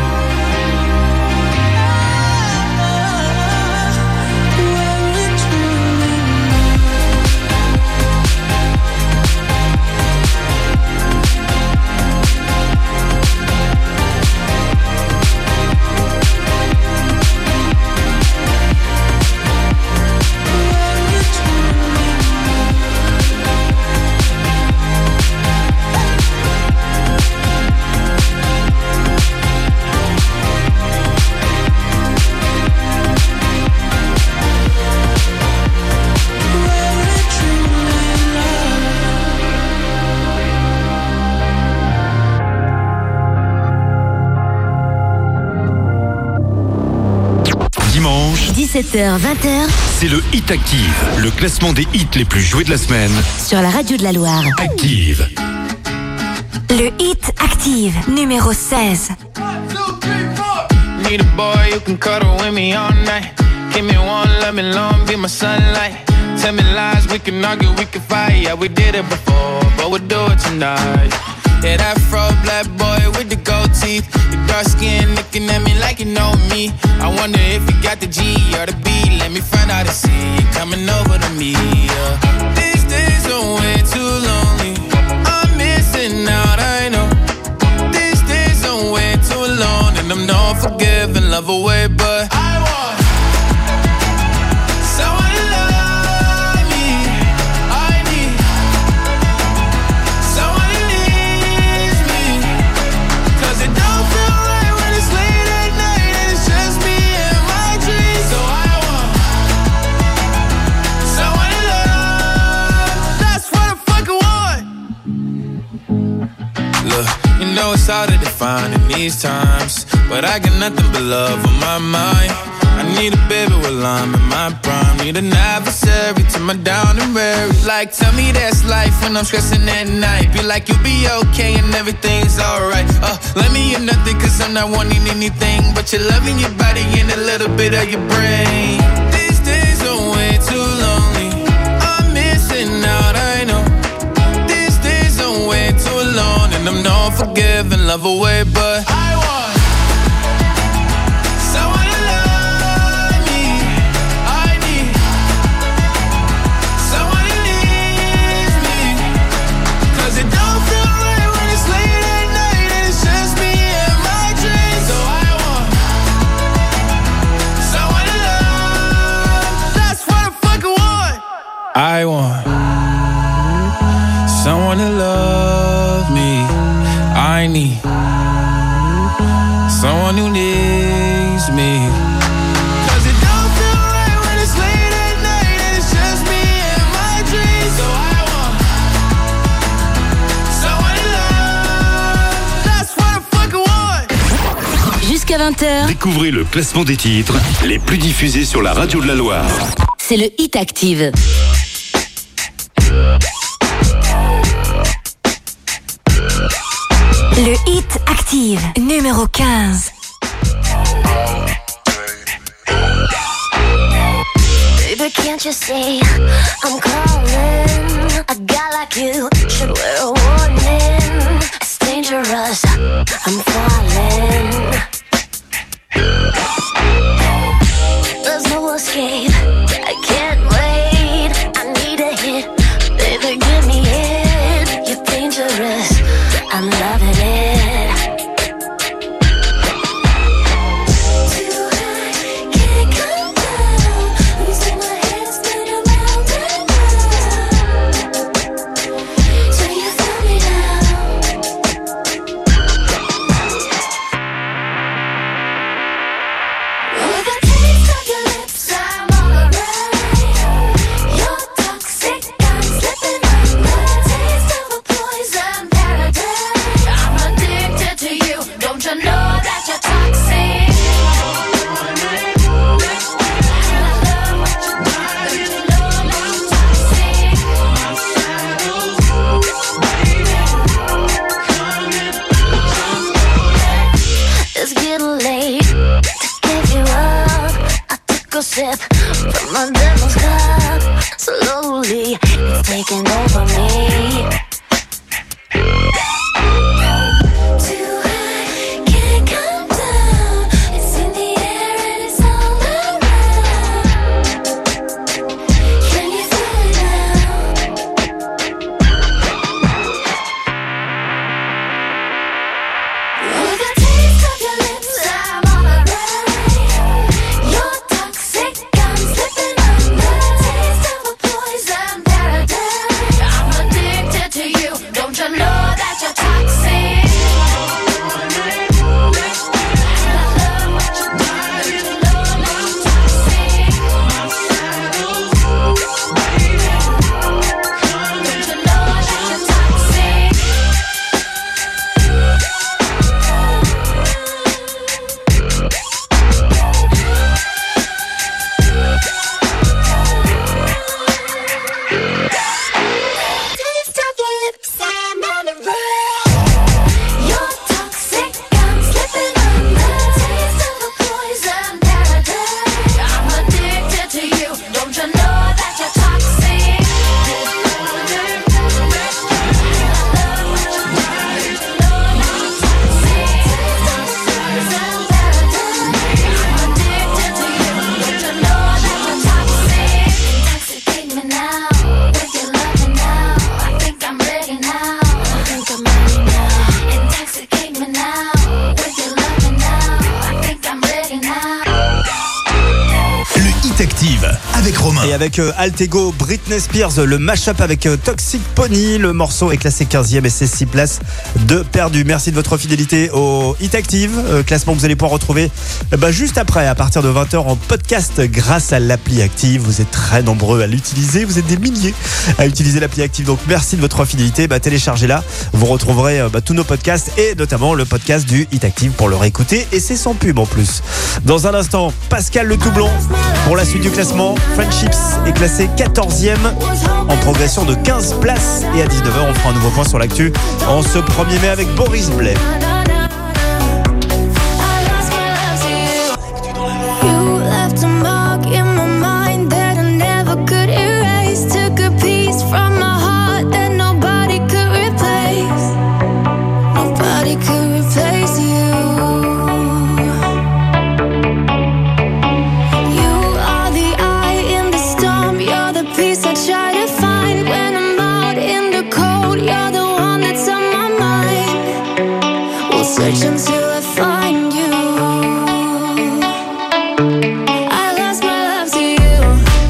Where it truly Dimanche, 17h, 20h, c'est le Hit Active, le classement des hits les plus joués de la semaine. sur la radio de la Loire. Active. Le Hit Active, numéro 16. Need a boy who can cuddle with me all night. Give me one, let me long, be my sunlight. Tell me lies, we can argue, we can fight. Yeah, we did it before, but we'll do it tonight. Yeah, that fro black boy with the gold teeth. Your dark skin looking at me like you know me. I wonder if you got the G or the B. Let me find out and see you coming over to me. Yeah. These days are way too lonely. I'm missing out, I know. These days are way too alone, and I'm not forgiving, love away, but I want someone to love me. I need someone who needs me. 'Cause it don't feel right when it's late at night and it's just me and my dreams. So I want someone to love. That's what I fucking want. Look, you know it's hard to define in these times, but I got nothing but love on my mind. I need a baby while I'm in my prime. Need an adversary to my down and weary. Like, tell me that's life when I'm stressing at night. Be like, you'll be okay and everything's alright. Let me hear nothing cause I'm not wanting anything but you're loving your body and a little bit of your brain. These days are way too lonely. I'm missing out, I know. These days are way too alone. And I'm not forgiving, love away, but I want I want someone to love me. I need someone who needs me. Cause it don't feel right when it's late at night and it's just me and my dreams. So I want someone to love. That's what I fucking want. Jusqu'à 20h. Découvrez le classement des titres les plus diffusés sur la radio de la Loire. C'est le Hit Active. Le Hit Active, numéro 15. Baby, can't you see I'm calling? A guy like you should wear a warning. It's dangerous, I'm falling. There's no escape, I can't wait. I need a hit, baby, give me it. You're dangerous, I'm loving it. I'm Et avec Altego, Britney Spears, le mashup avec Toxic Pony. Le morceau est classé 15e et c'est 6 places de perdu. Merci de votre fidélité au Hit Active. Classement que vous allez pouvoir retrouver juste après, à partir de 20h en podcast grâce à l'appli Active. Vous êtes très nombreux à l'utiliser. Vous êtes des milliers à utiliser l'appli Active. Donc merci de votre fidélité. Téléchargez-la. Vous retrouverez tous nos podcasts et notamment le podcast du Hit Active pour le réécouter. Et c'est sans pub en plus. Dans un instant, Pascal Le Toublon pour la suite du classement. Friendships est classé 14e en progression de 15 places. Et à 19h, on fera un nouveau point sur l'actu en ce 1er mai avec Boris Blais. Search until I find you. I lost my love to you.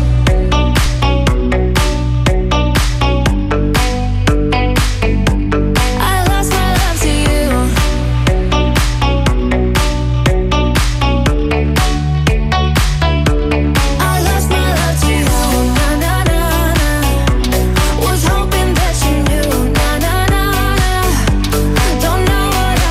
I lost my love to you. I lost my love to you. Na na na na. Was hoping that you knew. Na na na na. Don't know.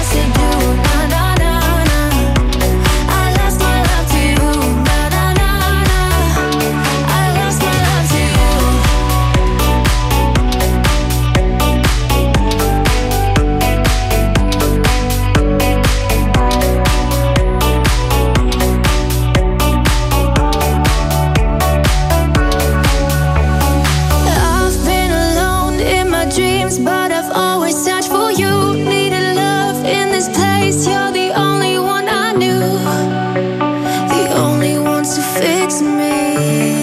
But I've always searched for you. Needed love in this place. You're the only one I knew, the only one to fix me.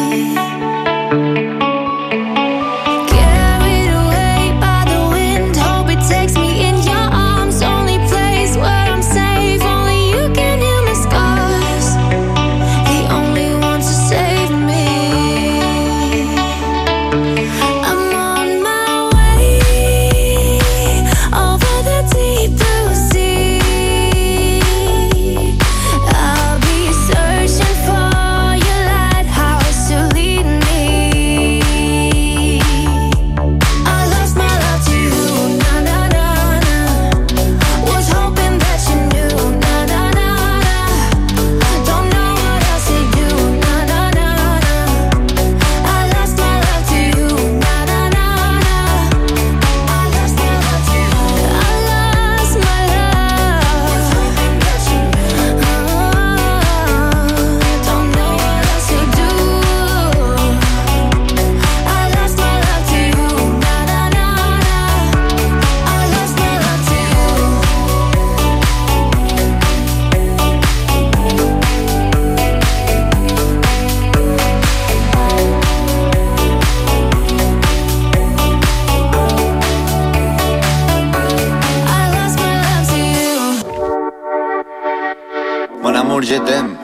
Carried away by the wind. Hope it takes me in your arms. Only place where I'm safe. Only you can heal my scars. The only one to save me. Mon amour, je t'aime.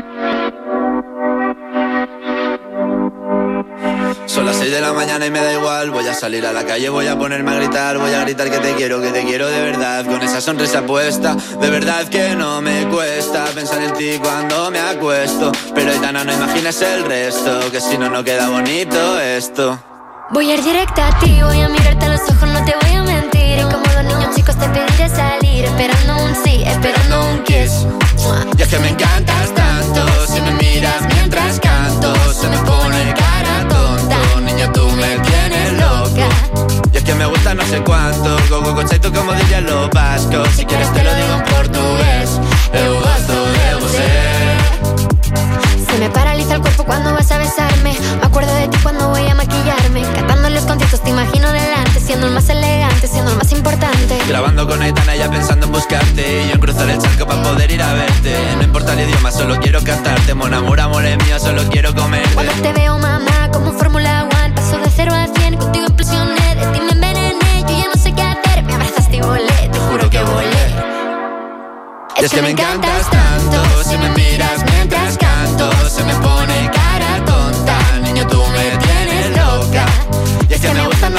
Son las 6 de la mañana y me da igual. Voy a salir a la calle, voy a ponerme a gritar. Voy a gritar que te quiero de verdad. Con esa sonrisa puesta, de verdad que no me cuesta pensar en ti cuando me acuesto. Pero Aitana, no imagines el resto, que si no, no queda bonito esto. Voy a ir directa a ti, voy a mirarte a los ojos, no te voy a mentir. Y como los niños chicos te pediré salir, esperando un sí, esperando un kiss. Y es que me encantas tanto, si me miras mientras canto, se me pone cara tonta. Niña, tú me tienes loca. Y es que me gusta no sé cuánto, go conceito como dirían los vascos. Si quieres te lo digo en portugués, eu gosto de você. Se me paraliza el cuerpo cuando vas a besarme. Me acuerdo de ti cuando voy a maquillarme. Cantando en los conciertos te imagino delante, siendo el más elegante, siendo el más importante. Grabando con Aitana ya pensando en buscarte, y yo en cruzar el charco para poder ir a verte. No importa el idioma, solo quiero cantarte. Mon amor, amor es mío, solo quiero comerte. Cuando te veo, mamá, como Fórmula 1, paso de 0 a 100, contigo implosioné. De ti me envenené, yo ya no sé qué hacer. Me abrazaste y volé, te juro que volé. Y es que me encantas tanto, si me miras mientras canto, se me pone cara tonta.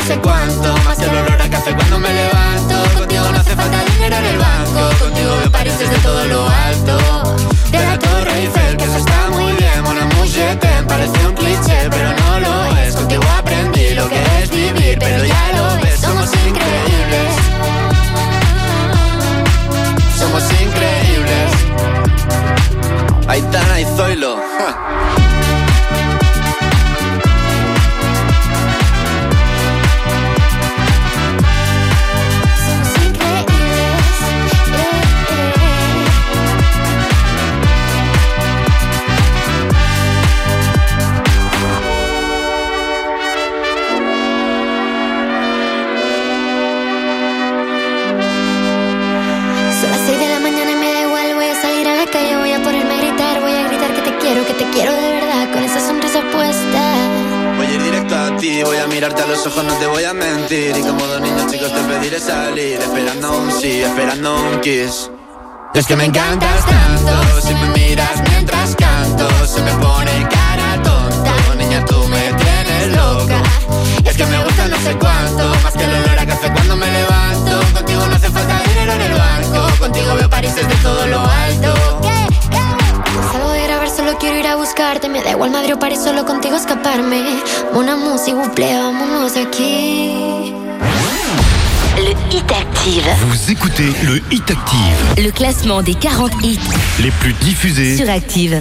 sé cuánto, más que el olor a café cuando me levanto. Contigo no hace falta dinero en el banco, contigo veo París desde todo lo alto. De la Torre Eiffel, que eso está muy bien, mon amour, je t'aime, parece un cliché, pero no lo es. Contigo aprendí lo que es vivir, pero ya lo ves, somos increíbles. Somos increíbles. Aitana y Zoilo. Que te quiero de verdad, con esa sonrisa puesta. Voy a ir directo a ti, voy a mirarte a los ojos, no te voy a mentir. Y como dos niños chicos te pediré salir, esperando un sí, esperando un kiss. Es que me encantas tanto, si me miras mientras canto, se me pone cara tonta. Niña, tú me tienes loca. Y es que me gusta no sé cuánto, más que el olor a café cuando me levanto. Contigo no hace falta dinero en el banco, contigo veo París desde todo lo alto. Salgo de grabar, solo quiero ir a buscarte. Me da igual Madrid o París, solo contigo escaparme. Mon amour, s'il vous plaît, vámonos de aquí. Le Hit Active. Vous écoutez le Hit Active. Le classement des 40 hits les plus diffusés sur Active.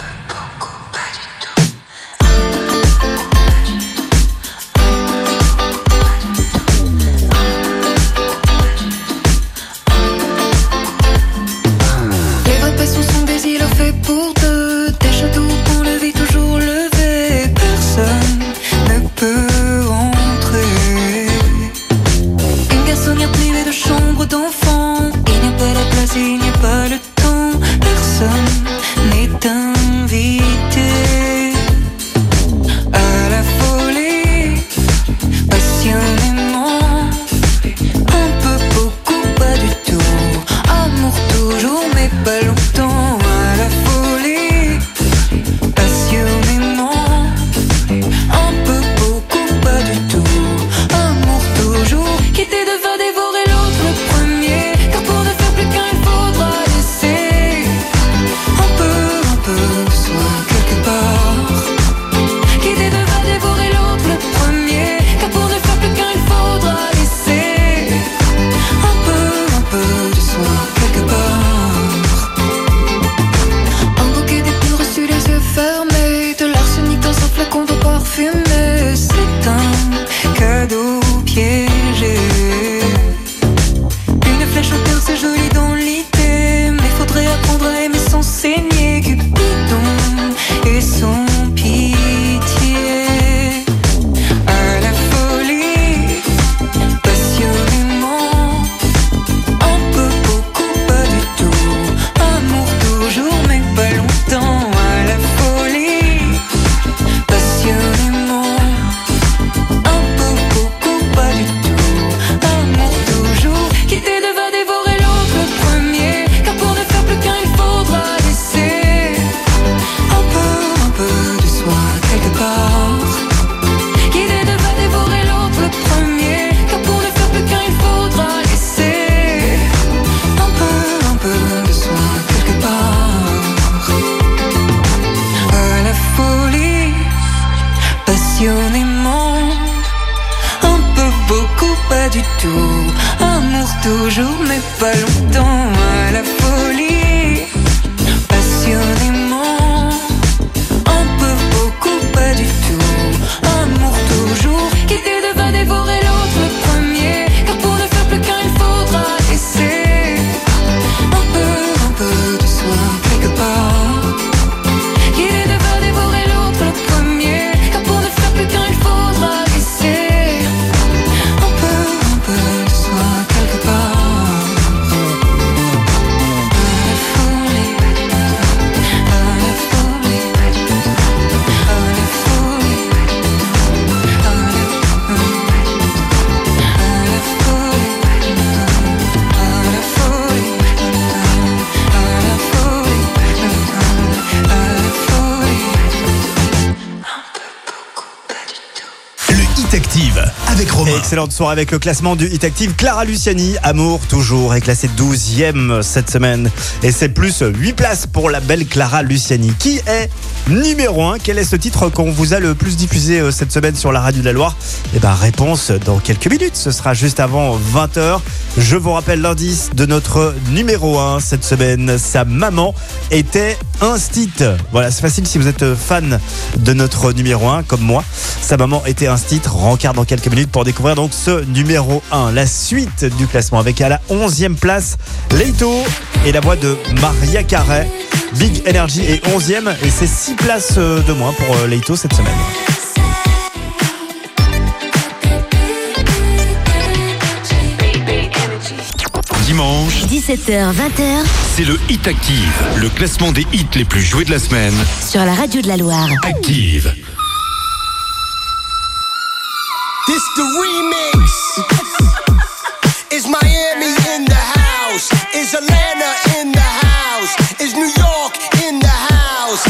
Pour deux, des châteaux qu'on le vit toujours levé. Personne ne peut entrer. Une garçonnière privée de chambre d'enfant. Il n'y a pas la place et il n'y a pas le temps. Personne n'est invité à la folie. Passionnément, un peu, beaucoup, pas du tout. Amour toujours, mais pas longtemps. Toujours mais pas longtemps à la folie. Passionnément, un peu, beaucoup, pas du tout. Amour toujours, quitter devant dévorer l'autre le premier. Car pour ne faire plus qu'un il faudra laisser un peu de soi quelque part. Quitter devant dévorer l'autre le premier. Car pour ne faire plus qu'un il faudra laisser un peu de soi quelque part. excellente soirée avec le classement du Hit Active. Clara Luciani, Amour toujours, est classée 12e cette semaine. Et c'est plus 8 places pour la belle Clara Luciani. Qui est numéro 1? Quel est ce titre qu'on vous a le plus diffusé cette semaine sur la radio de la Loire? Eh ben, réponse dans quelques minutes. Ce sera juste avant 20h. Je vous rappelle l'indice de notre numéro 1 cette semaine. Sa maman était instite. Voilà, c'est facile si vous êtes fan de notre numéro 1 comme moi. Sa maman était instite. Rencard dans quelques minutes pour découvrir donc ce numéro 1. La suite du classement avec à la 11e place Leito et la voix de Maria Carey. Big Energy est 11e et c'est 6 places de moins pour Leito cette semaine. Dimanche, 17h-20h, c'est le Hit Active, le classement des hits les plus joués de la semaine. sur la radio de la Loire. Active. This the remix. Is Miami in the house? Is Atlanta in the house? Is New York in the house?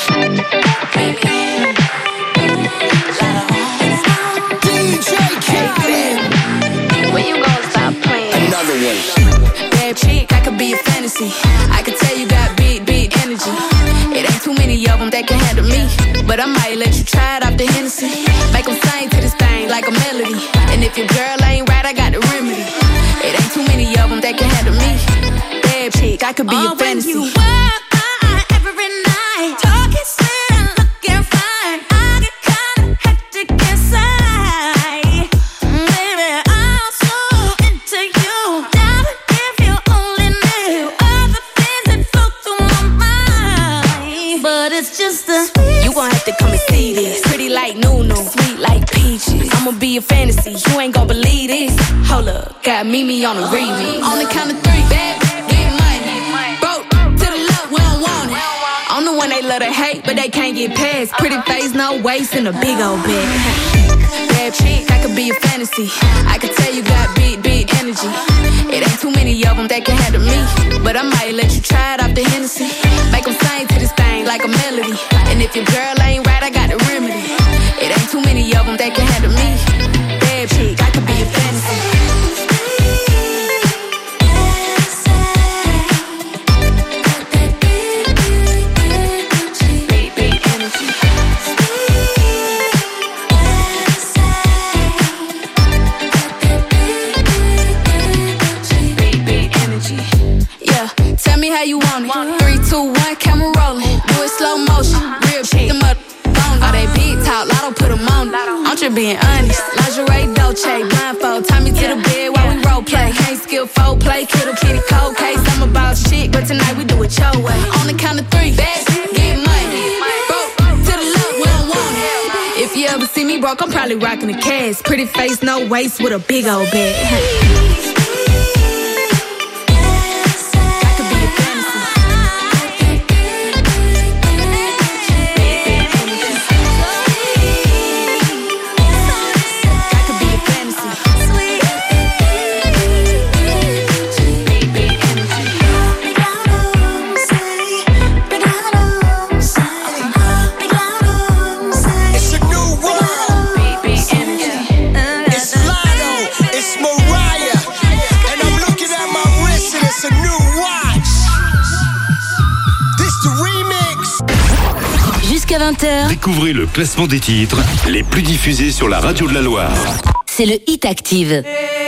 DJ Khaled. When you gonna stop playing? Another one. Bad chick, I could be a fantasy. I could tell you got big energy. It ain't too many of them that can handle me. But I might let you try it off the Hennessy. Make them sing to this thing like a melody. And if your girl ain't right, I got the remedy. It ain't too many of them that can handle me. Bad chick, I could be a fantasy. When you work every night, talking sweet and looking fine, I get kinda hectic inside. Baby, I'm so into you. Never if you only knew all the things that flow through my mind. But it's just the You gon' have to come and see this. Pretty like Nunu, sweet like peaches. I'ma be a fantasy, you ain't gon' believe this. Hold up, got Mimi on the remix. On the count of 3, bad, get money. Broke to the left, we don't want it. I'm the one they love to hate, but they can't get past. Pretty face, no waist, and a big old bag. Bad chick, I could be a fantasy. I could tell you got big energy. It ain't too many of them that can handle me. But I might let you try it off the Hennessy. Make them sing to this thing like a melody. And if your girl ain't right, I got the remedy. It ain't too many of them that can handle me. Bad chick, I could be a fantasy. Yeah, tell me how you want it. 3, 2, 1, camera rolling. Do it slow motion. Real chick, them up on. All they big talk, lotto put them on. I'm just being honest. Lingerie, Dolce, blindfold. Tie me to the bed while we role play. Can't skill fold play, kiddo kitty cold case. I'm about shit, but tonight we do it your way. On the count of 3, best, get money. Broke to the left, we don't want it. If you ever see me broke, I'm probably rocking a cast. Pretty face, no waist, with a big old bag. It's a new world. It's Lotto. It's Mariah. And I'm looking at my wrist and it's a new watch. This the remix. Jusqu'à 20h, Découvrez le classement des titres les plus diffusés sur la radio de la Loire. c'est le Hit Active.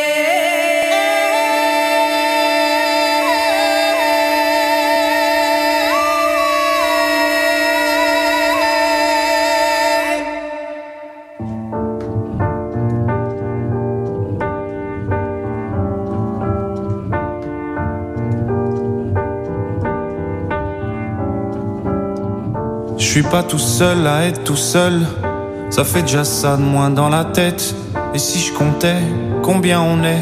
Je suis pas tout seul à être tout seul. Ça fait déjà ça de moins dans la tête. Et si je comptais combien on est?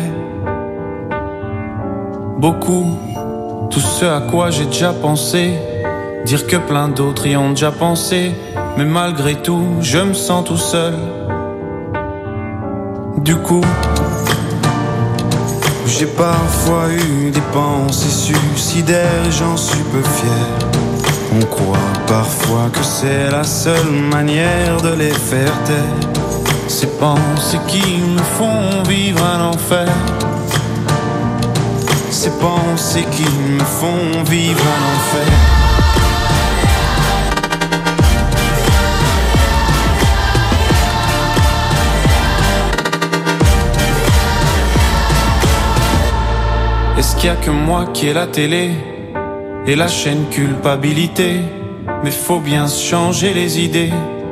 Beaucoup. Tout ce à quoi j'ai déjà pensé. Dire que plein d'autres y ont déjà pensé. Mais malgré tout, je me sens tout seul. Du coup, j'ai parfois eu des pensées suicidaires et j'en suis peu fier. On croit parfois que c'est la seule manière de les faire taire. Ces pensées qui me font vivre un enfer. Ces pensées qui me font vivre un enfer. Est-ce qu'il y a que moi qui ai la télé et la chaîne culpabilité? Mais faut bien se changer les idées.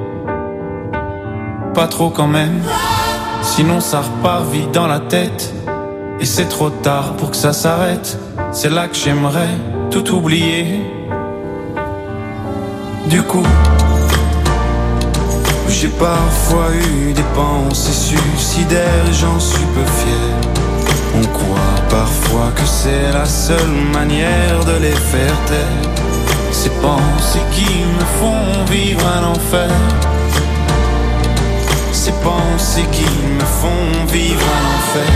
Pas trop quand même, sinon ça repart vite dans la tête. Et c'est trop tard pour que ça s'arrête. C'est là que j'aimerais tout oublier. Du coup, j'ai parfois eu des pensées suicidaires et j'en suis peu fier. On croit parfois que c'est la seule manière de les faire taire. Ces pensées qui me font vivre un enfer. Ces pensées qui me font vivre un enfer.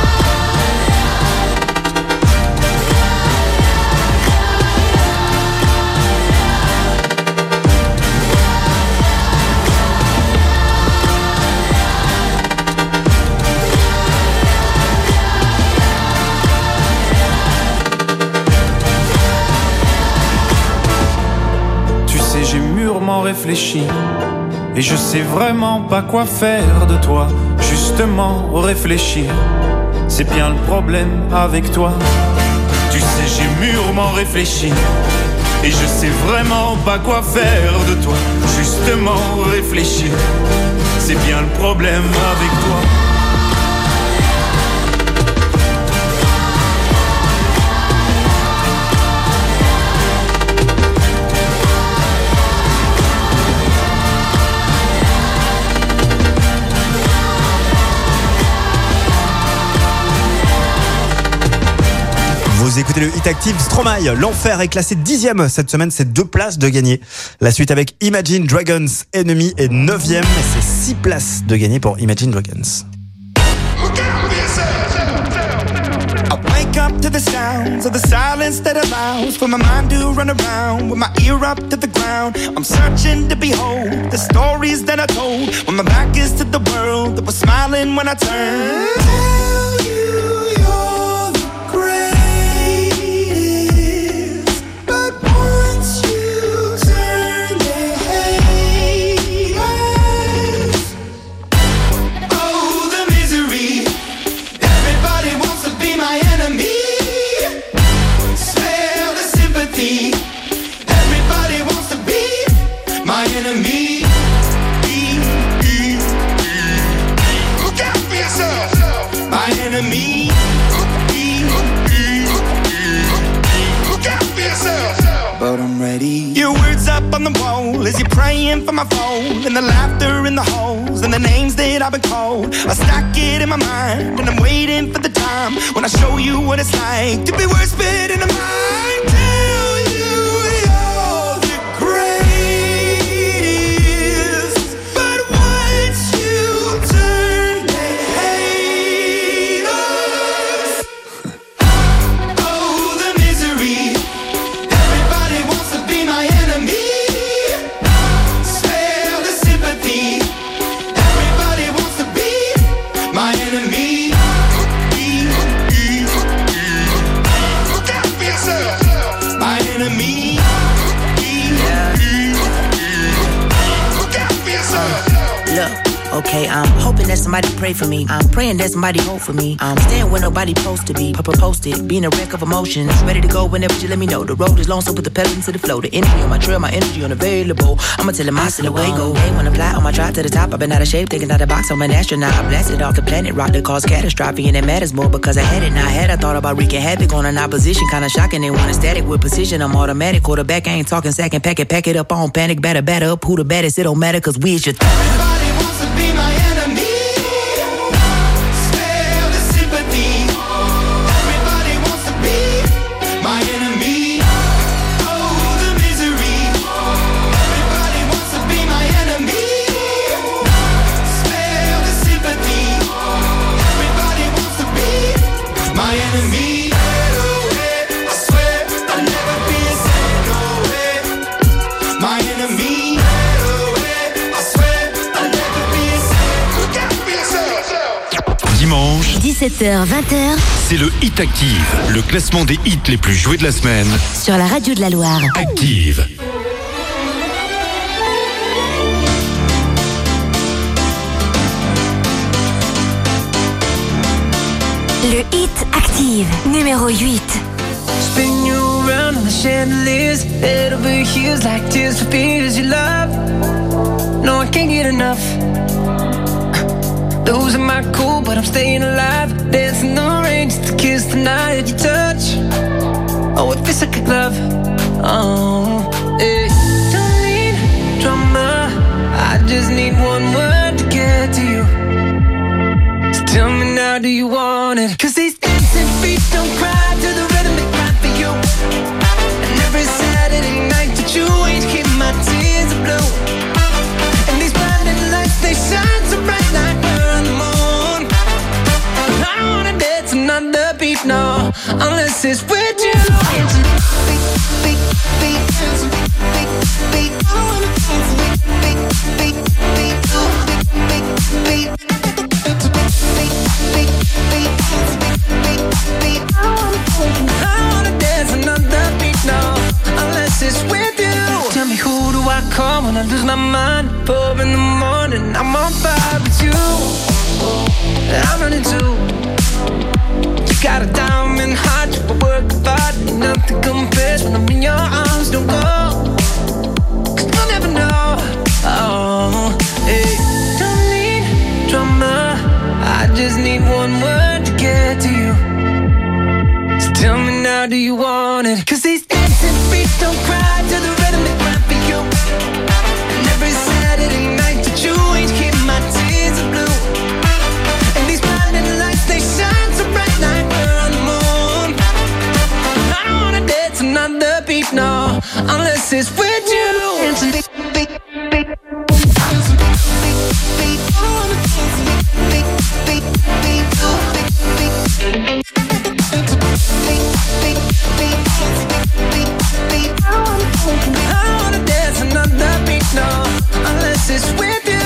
J'ai mûrement réfléchi et je sais vraiment pas quoi faire de toi. Justement réfléchir, c'est bien le problème avec toi. Tu sais j'ai mûrement réfléchi et je sais vraiment pas quoi faire de toi. Justement réfléchir, c'est bien le problème avec toi. Vous écoutez le Hit Active. Stromae, l'enfer est classé 10e cette semaine, c'est 2 places de gagner. La suite avec Imagine Dragons, Enemy est 9e, c'est 6 places de gagner pour Imagine Dragons. I wake up to the sounds of the silence that allows for my mind to run around with my ear up to the ground. I'm searching to behold the stories that I told when my back is to the world that was smiling when I turned. Tell you you're the greatest, but once you turn they hate us. Oh, the misery. Everybody wants to be my enemy. Spare the sympathy. Everybody wants to be my enemy. Look out for yourself. My enemy. Look out for yourself. But I'm ready. Your words up on the wall as you're praying for my phone, and the laughter in the halls and the names that I've been called. I stack it in my mind and I'm waiting for the time when I show you what it's like to be worse fit in the mind. Tell you you're the greatest, but once you turn they hate us. Oh, the misery. Everybody wants to be my enemy. Spare the sympathy. Everybody wants to be my enemy. Look out for yourself. My enemy. Look out for yourself. Look, okay, I'm hoping that somebody pray for me. I'm praying that somebody hope for me. I'm staying where nobody supposed to be. Posted, being a wreck of emotions. Ready to go whenever you let me know. The road is long, so put the pedal into the flow. The energy on my trail, my energy unavailable. I'ma tell him I still away go. Hey, when I fly on my drive to the top, I've been out of shape, taking out the box. I'm an astronaut. I blasted off the planet, rock that caused catastrophe, and it matters more because I had it. Now I had, I thought about wreaking havoc on an opposition. Kinda shocking, they want a static with precision. I'm automatic, quarterback. I ain't talking second pack it up on panic, batter up. Who the baddest? It don't matter, cause we is your Everybody wants to be my enemy. Spare the sympathy. Everybody wants to be my enemy. Oh, the misery. Everybody wants to be my enemy. Spare the sympathy. Everybody wants to be my enemy. I swear I'll never be a saint, no way. My enemy. I swear I'll 17h, 20h. C'est le Hit Active, le classement des hits les plus joués de la semaine. Sur la radio de la Loire. Active. Le Hit Active, numéro 8. Spin you around on the chandeliers, head over heels like tears for fears you love. No, I can't get enough. Losing my cool, but I'm staying alive. Dancing the rain just to kiss the night you touch. Oh, it feels like a glove. Oh, yeah. Don't need drama, I just need one word to get to you. So tell me now, do you want it? 'Cause these dancing feet don't cry to the rhythm they cry for you. And every Saturday night that you ain't keep my tears are blue. And these blinding lights, they shine so bright like we're on the moon. I don't wanna dance another beat, no, unless it's with you. Beat, beat, beat, beat, beat. I wanna dance beat, beat, beat, beat, beat, beat, beat. I wanna dance another beat now, unless it's with you. Tell me, who do I call when I lose my mind? 4 in the morning, I'm on fire with you. I'm running too. You got a diamond heart, you work hard, nothing compares when I'm in your arms. Don't go, 'cause you'll never know. Oh, hey. Don't need drama, I just need one word to get to you. So tell me now, do you want it? 'Cause these dancing feet don't cry to the rhythm they cry for you. And every Saturday night that you ain't keep my tears are blue. And these blinding lights, they shine so bright like we're on the moon. I don't wanna dance another beat, no, unless it's with you. Dancing beat, beat, beat. I wanna dance another beat, no, unless it's with you.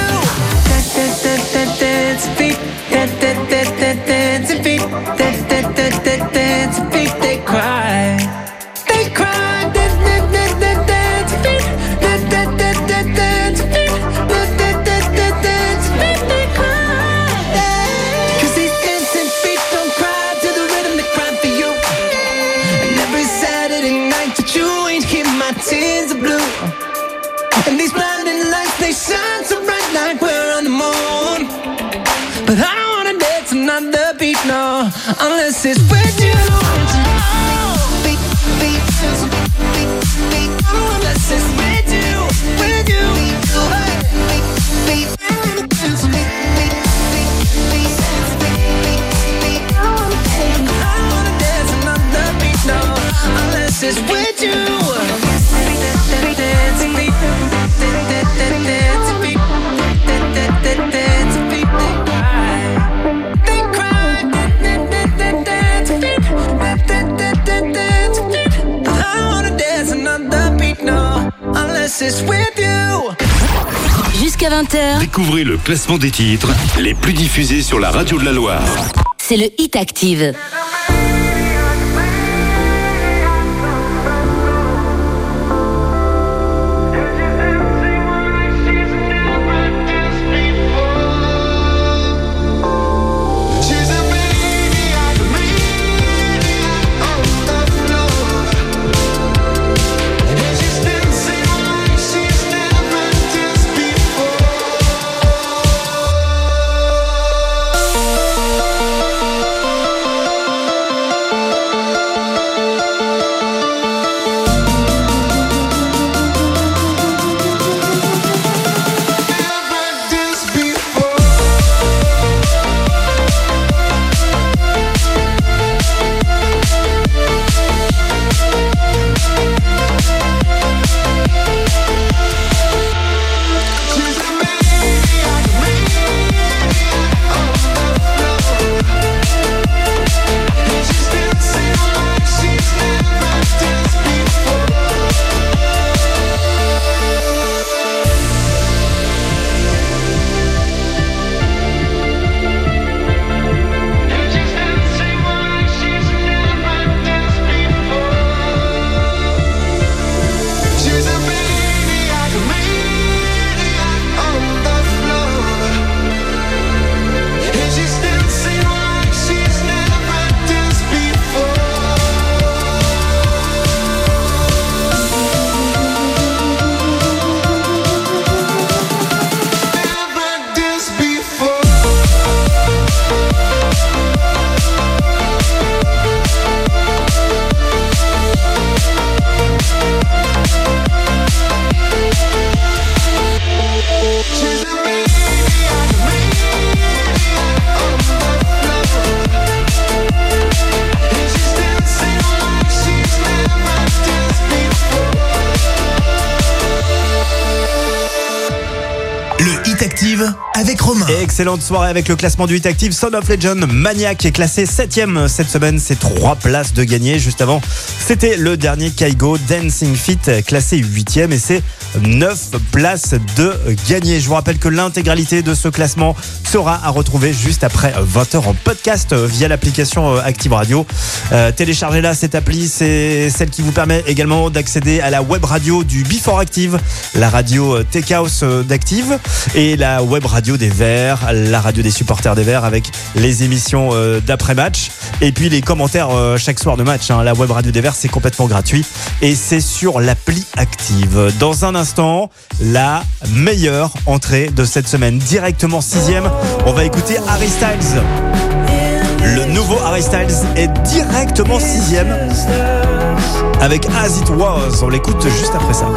Dance beat, dance beat, dance beat. They cry, they cry. Dance beat, dance beat, dance beat. They cry. 'Cause these dancing feet don't cry to the rhythm they cry for you. And every Saturday night that you ain't keep my tears are blue. And these blinding lights, they shine so bright like we're on the moon. But I don't wanna dance another beat, no, unless it's with you. Beat, beat, beat, beat, unless it's with you, with you. Beat, beat, beat, I wanna dance another beat, no, unless it's with you. Jusqu'à 20h. Découvrez le classement des titres les plus diffusés sur la radio de la Loire. C'est le Hit Active. Active avec Romain. Et excellente soirée avec le classement du Hit Active. Son of Legend, Maniac est classé 7ème cette semaine. C'est 3 places de gagné. Juste avant, c'était le dernier Kygo, Dancing Feet, classé 8ème. Et c'est 9 places de gagné. Je vous rappelle que l'intégralité de ce classement sera à retrouver juste après 20h en podcast via l'application Active Radio. Téléchargez-la, cette appli. C'est celle qui vous permet également d'accéder à la web radio du Before Active, la radio Tech House d'Active et la web radio des Verts, la radio des supporters des Verts avec les émissions d'après-match et puis les commentaires chaque soir de match. La web radio des Verts, c'est complètement gratuit et c'est sur l'appli Active. Dans un instant, la meilleure entrée de cette semaine, directement 6ème. On va écouter Harry Styles. Le nouveau Harry Styles est directement 6ème avec As It Was. On l'écoute juste après ça.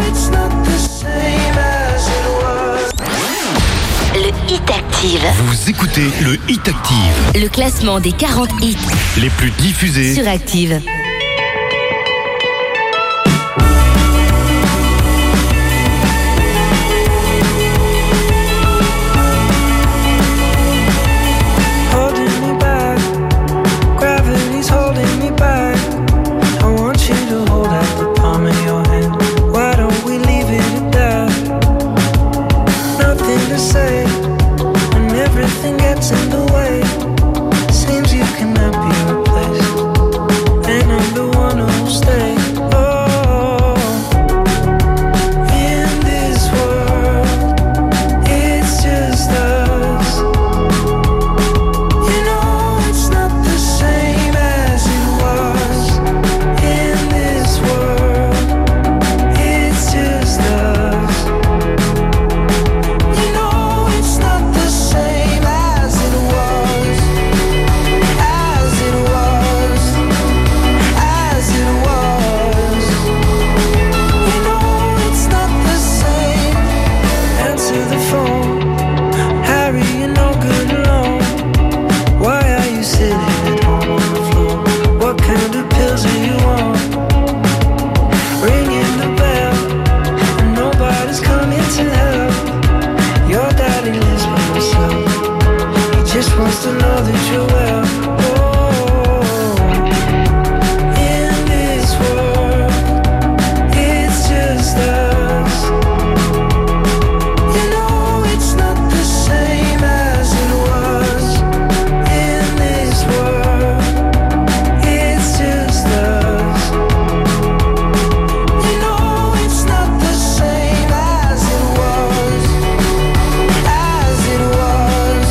Le Hit Active. Vous écoutez le Hit Active. Le classement des 40 hits Les plus diffusés sur Active. In the way, seems you cannot be replaced, and I'm the one who'll stay. Oh, in this world, it's just us. You know it's not the same as it was. In this world, it's just us. You know it's not the same. Wants to know that you're well. Oh, in this world, it's just us. You know it's not the same as it was. In this world, it's just us. You know it's not the same as it was. As it was.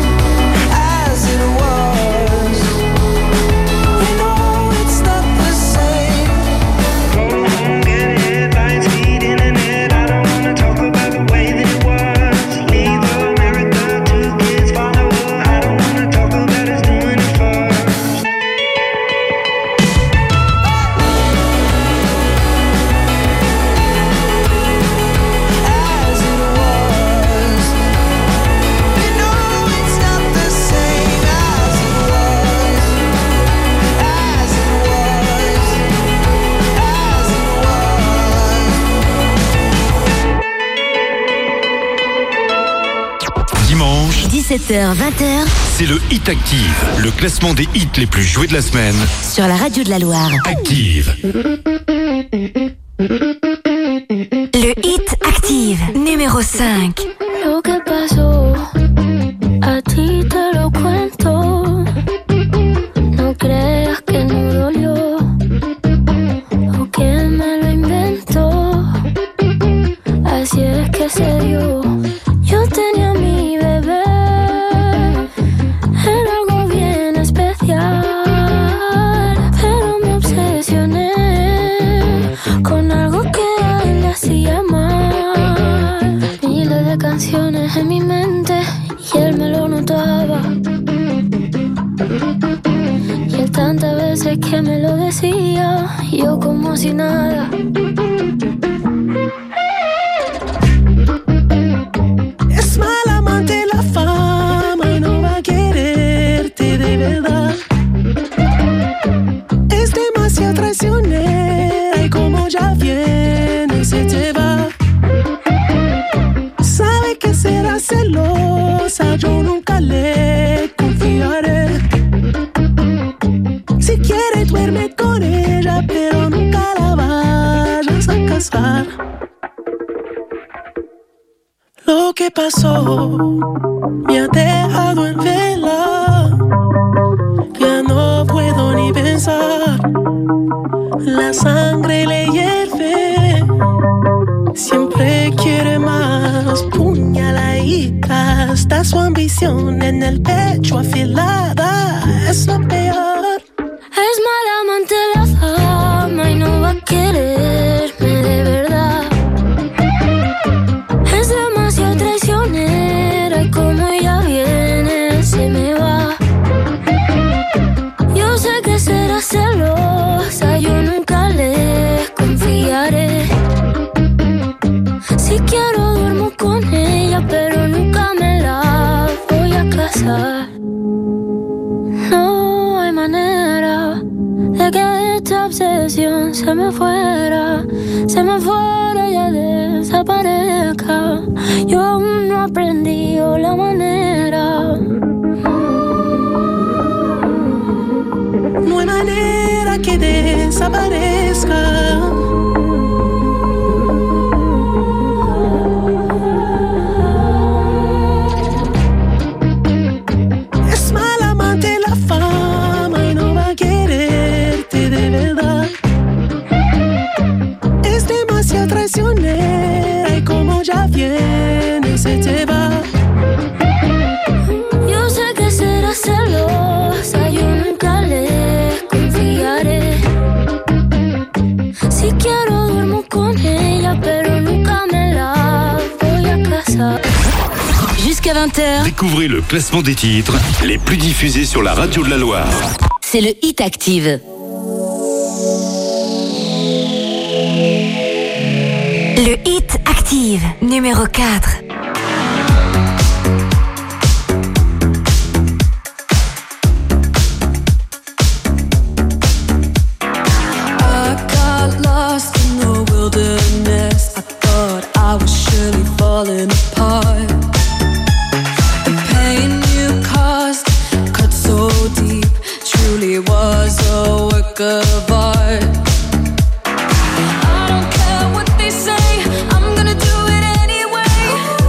Dimanche, 17h, 20h, c'est le Hit Active, le classement des hits les plus joués de la semaine. sur la radio de la Loire. Active. Le Hit Active, numéro 5. Lo que pasó, a ti te lo cuento. No creas que no dolió, o que me lo inventó. Así es que se dio. Yo tenía a mi bebé, era algo bien especial, pero me obsesioné con algo que a él le hacía mal. Miles de canciones en mi mente y él me lo notaba. Y él tantas veces que me lo decía, yo como si nada. Es mal amante la fama y no va a quererte de verdad. Es demasiado traicionera y como ya viene se te va. Sabe que será celosa pasó me ha dejado en vela. Ya no puedo ni pensar. La sangre le hierve. Siempre quiere más. Puñaladita. Está su ambición en el pecho afilada. Es lo peor. Es mala amante la fama y no va a quererme de verdad. Es demasiado traicionera y como ella viene se me va. Yo sé que será celosa, yo nunca le confiaré. Si quiero duermo con ella, pero nunca me la voy a casar. No hay manera de que esta obsesión se me fuera y ya desaparezca. Yo aún no he aprendido la manera. No hay manera que desaparezca. Es mala amante la fama y no va a quererte de verdad. Es demasiado traicionera y como ya viene se te va. Yo sé que será celosa, yo nunca le confiaré. Si quiero duermo con ella, pero nunca me la voy a casar. Jusqu'à 20h, Découvrez le classement des titres les plus diffusés sur la radio de la Loire. c'est le Hit Active. Le Hit Active, numéro 4. I got lost in the wilderness. I thought I was surely falling apart. The pain you caused cut so deep, truly was a work of art. I don't care what they say, I'm gonna do it anyway.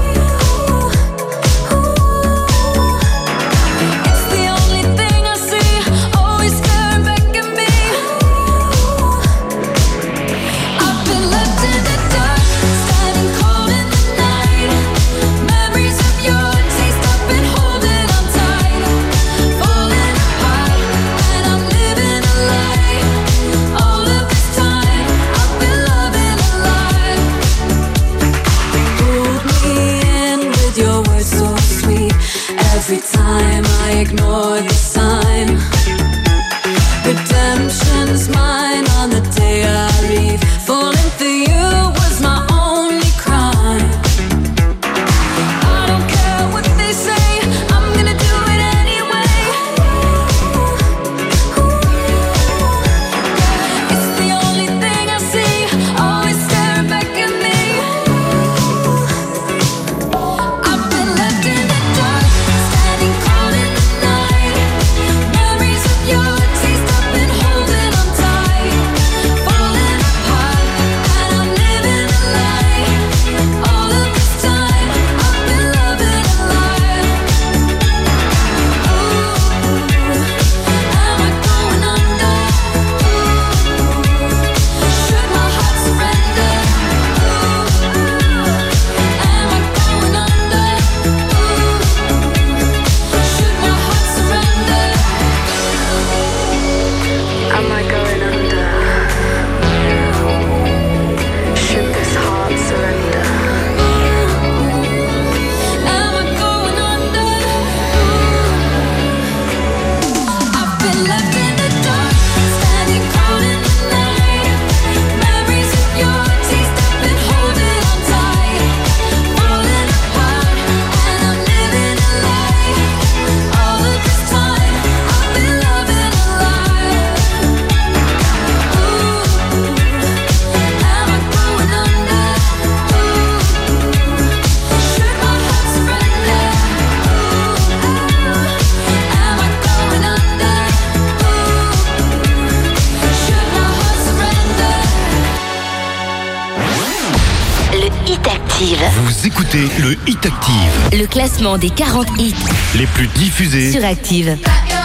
Active. Vous écoutez le Hit Active. Le classement des 40 hits les plus diffusés sur Active.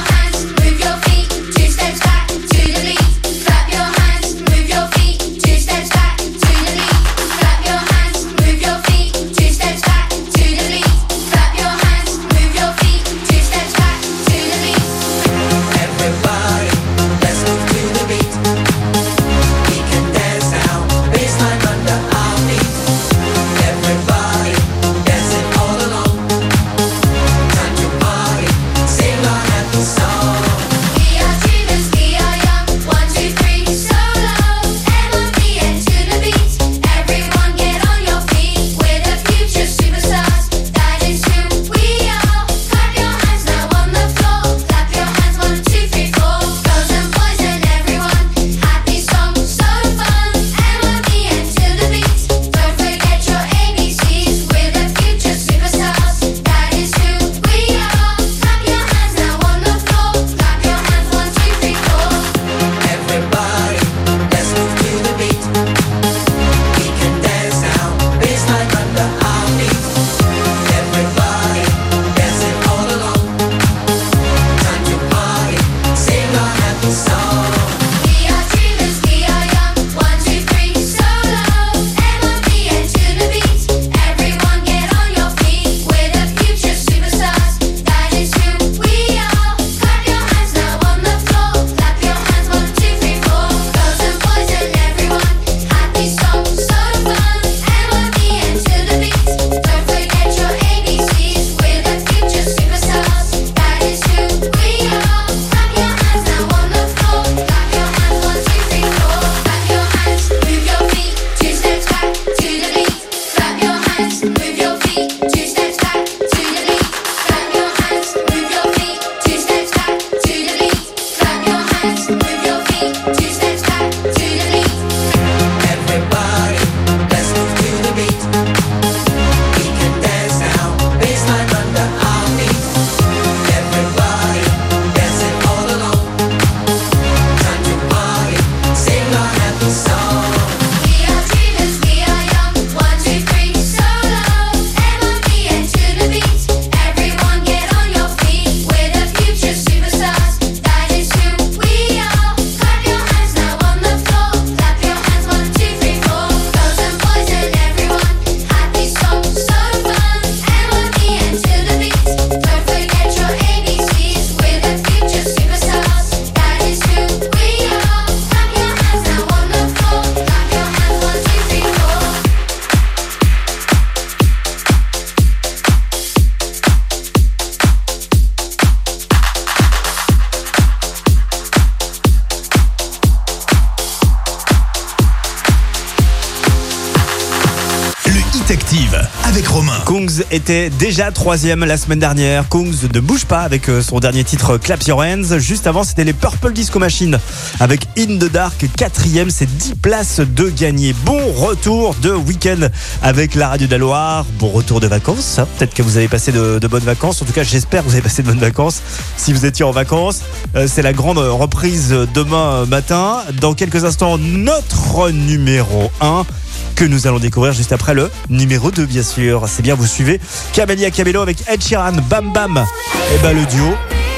Active avec Romain. Kungs était déjà 3e la semaine dernière. Kungs ne bouge pas avec son dernier titre Clap Your Hands. Juste avant, c'était les Purple Disco Machine avec In the Dark, 4e. C'est 10 places de gagné. Bon retour de week-end avec la radio de la Loire. Bon retour de vacances. Peut-être que vous avez passé de bonnes vacances. En tout cas, j'espère que vous avez passé de bonnes vacances. Si vous étiez en vacances, c'est la grande reprise demain matin. Dans quelques instants, notre numéro 1. Que nous allons découvrir juste après le numéro 2, bien sûr. C'est bien, vous suivez Camélia Cabello avec Ed Sheeran, Bam Bam. Et ben le duo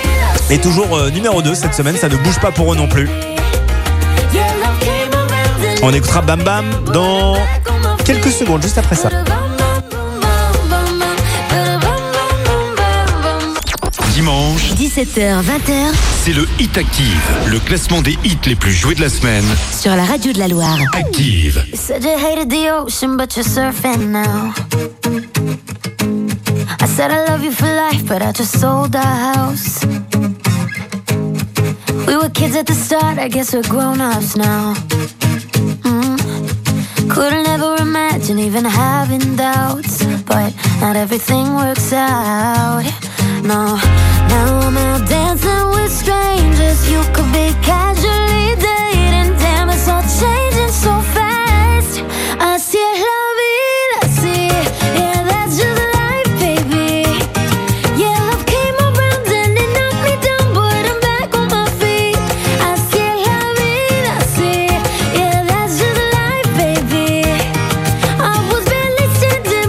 est toujours numéro 2 cette semaine, ça ne bouge pas pour eux non plus. On écoutera Bam Bam dans quelques secondes, juste après ça. Dimanche, 17h, 20h, c'est le Hit Active, le classement des hits les plus joués de la semaine. Sur la radio de la Loire. Active. You said you hated the ocean, but you're surfing now. I said I love you for life, but I just sold our house. We were kids at the start, I guess we're grown-ups now. Couldn't ever imagine even having doubts, but not everything works out. No, now I'm out dancing with strangers. You could be casually dating. Damn, it's all changing so fast. Así es la vida, sí. Yeah, that's just life, baby. Yeah, love came around and it knocked me down, but I'm back on my feet. Así es la vida, sí. Yeah, that's just life, baby. I was barely standing.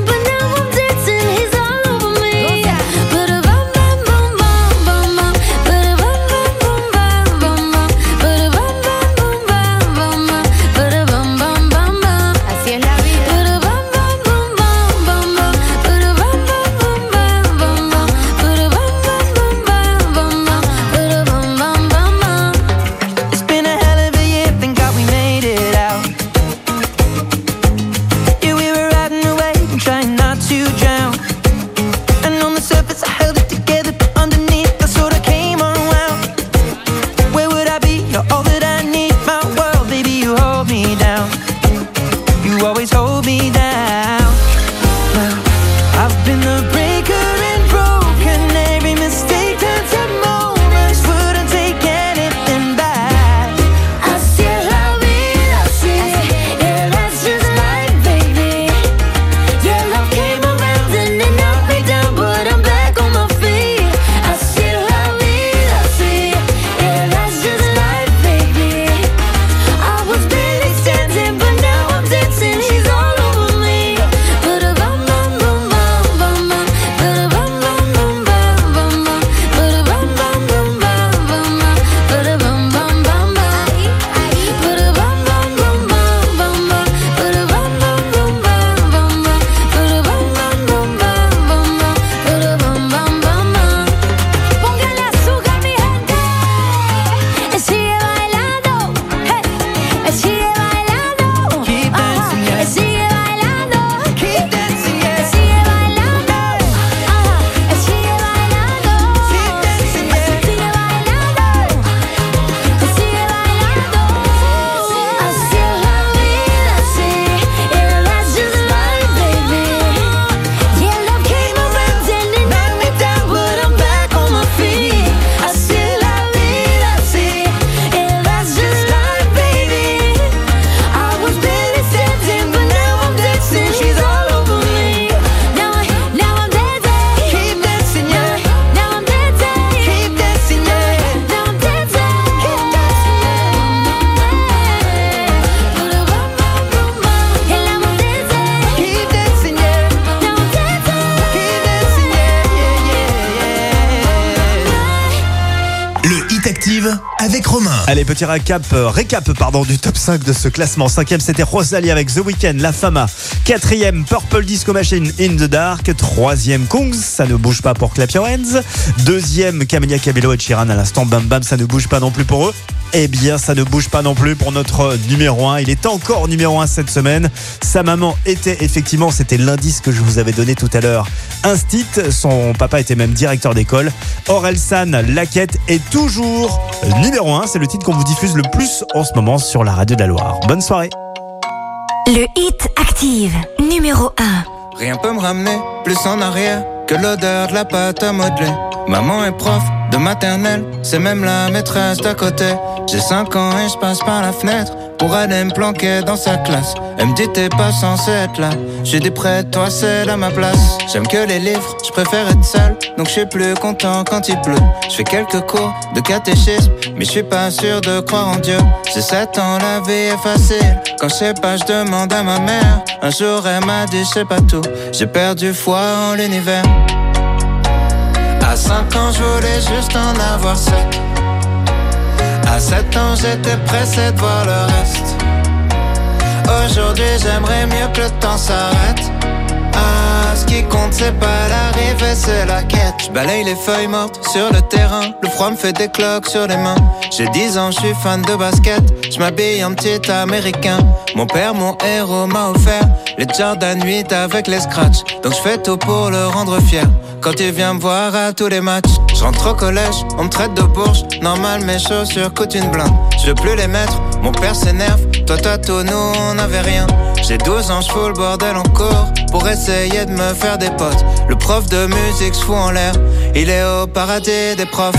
Allez, petit récap du top 5 de ce classement. 5e, c'était Rosalie avec The Weeknd, La Fama. 4e, Purple Disco Machine, In the Dark. 3e, Kungs, Ça ne bouge pas pour Clap Your Hands. 2e, Camila Cabello et Sheeran à l'instant. Bam Bam, ça ne bouge pas non plus pour eux. Eh bien, ça ne bouge pas non plus pour notre numéro 1. Il est encore numéro 1 cette semaine. Sa maman était effectivement, c'était l'indice que je vous avais donné tout à l'heure, Instit. Son papa était même directeur d'école. Orelsan, Laquette est toujours numéro 1. C'est le titre qu'on vous diffuse le plus en ce moment sur la radio de la Loire. Bonne soirée. Le Hit Active, numéro 1. Rien peut me ramener plus en arrière que l'odeur de la pâte à modeler. Maman est prof de maternelle, c'est même la maîtresse d'à côté. J'ai 5 ans et je passe par la fenêtre pour aller me planquer dans sa classe. Elle me dit t'es pas censé être là. J'ai dit près de toi c'est là ma place. J'aime que les livres, je préfère être seul, donc je suis plus content quand il pleut. Je fais quelques cours de catéchisme, mais je suis pas sûr de croire en Dieu. J'ai 7 ans, la vie est facile. Quand je sais pas, je demande à ma mère. Un jour elle m'a dit je sais pas tout. J'ai perdu foi en l'univers. À 5 ans, je voulais juste en avoir 7. À 7 ans, j'étais pressé de voir le reste. Aujourd'hui, j'aimerais mieux que le temps s'arrête. Ah, ce qui compte, c'est pas l'arrivée, c'est la quête. Je balaye les feuilles mortes sur le terrain. Le froid me fait des cloques sur les mains. J'ai 10 ans, je suis fan de basket. Je m'habille en petit américain. Mon père, mon héros, m'a offert les Jordan 8 avec les scratchs. Donc je fais tout pour le rendre fier. Quand il vient me voir à tous les matchs, je rentre au collège, on me traite de bourge. Normal, mes chaussures coûtent une blinde. Je veux plus les mettre, mon père s'énerve. Toi t'as tout, nous on n'avait rien. J'ai 12 ans, je fous le bordel en cours pour essayer de me faire des potes. Le prof de musique se fout en l'air, il est au paradis des profs.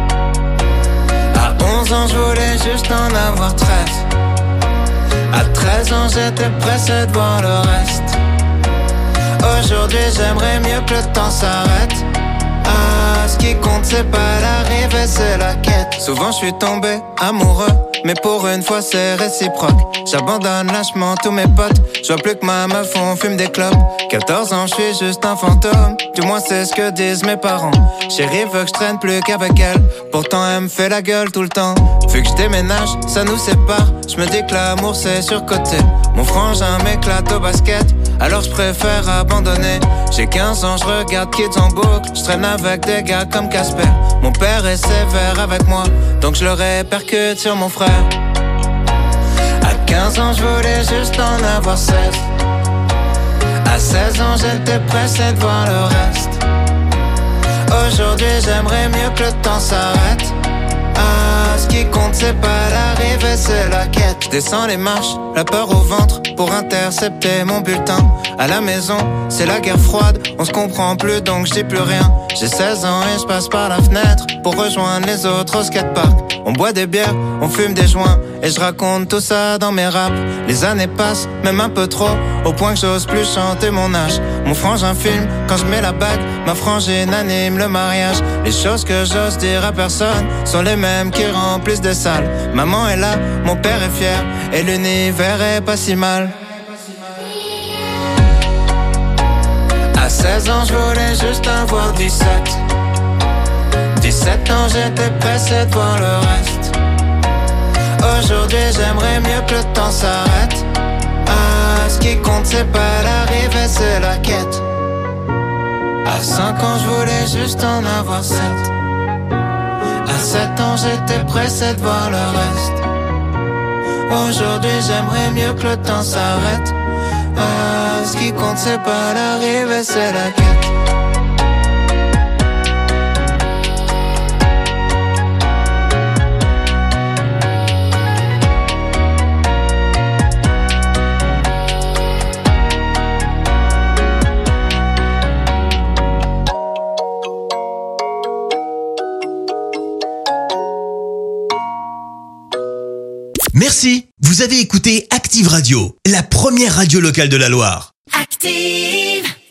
À 11 ans, je voulais juste en avoir 13. À 13 ans, j'étais pressé de voir le reste. Aujourd'hui, j'aimerais mieux que le temps s'arrête. Ah, ce qui compte, c'est pas l'arrivée, c'est la quête. Souvent, je suis tombé amoureux, mais pour une fois, c'est réciproque. J'abandonne lâchement tous mes potes. Je vois plus que ma meuf, on fume des clopes. 14 ans, je suis juste un fantôme. Du moins, c'est ce que disent mes parents. Chérie veut que je traîne plus qu'avec elle. Pourtant, elle me fait la gueule tout le temps. Vu que je déménage, ça nous sépare. Je me dis que l'amour, c'est surcoté. Mon frangin m'éclate au basket, alors je préfère abandonner. J'ai 15 ans, je regarde Kids en boucle. Je traîne avec des gars comme Casper. Mon père est sévère avec moi, donc je le répercute sur mon frère. À 15 ans, je voulais juste en avoir 16. À 16 ans, j'étais pressé de voir le reste. Aujourd'hui, j'aimerais mieux que le temps s'arrête. Ah, ce qui compte, c'est pas l'arrivée, c'est la quête. Je descends les marches, la peur au ventre, pour intercepter mon bulletin. À la maison, c'est la guerre froide, on se comprend plus donc je dis plus rien. J'ai 16 ans et je passe par la fenêtre pour rejoindre les autres au skatepark. On boit des bières, on fume des joints, et je raconte tout ça dans mes raps. Les années passent, même un peu trop, au point que j'ose plus chanter mon âge. Mon frangin filme, quand je mets la bague, ma frangine anime le mariage. Les choses que j'ose dire à personne sont les mêmes qui remplissent des salles. Maman est là, mon père est fier, et l'univers est pas si mal. À 16 ans, je voulais juste avoir 17. 17 ans, j'étais pressé de voir le reste. Aujourd'hui, j'aimerais mieux que le temps s'arrête. Ah, ce qui compte, c'est pas l'arrivée, c'est la quête. À 5 ans, je voulais juste en avoir 7. À 7 ans, j'étais pressé de voir le reste. Aujourd'hui, j'aimerais mieux que le temps s'arrête. Ah, ce qui compte, c'est pas l'arrivée, c'est la quête. Merci, vous avez écouté Active Radio, la première radio locale de la Loire. Active!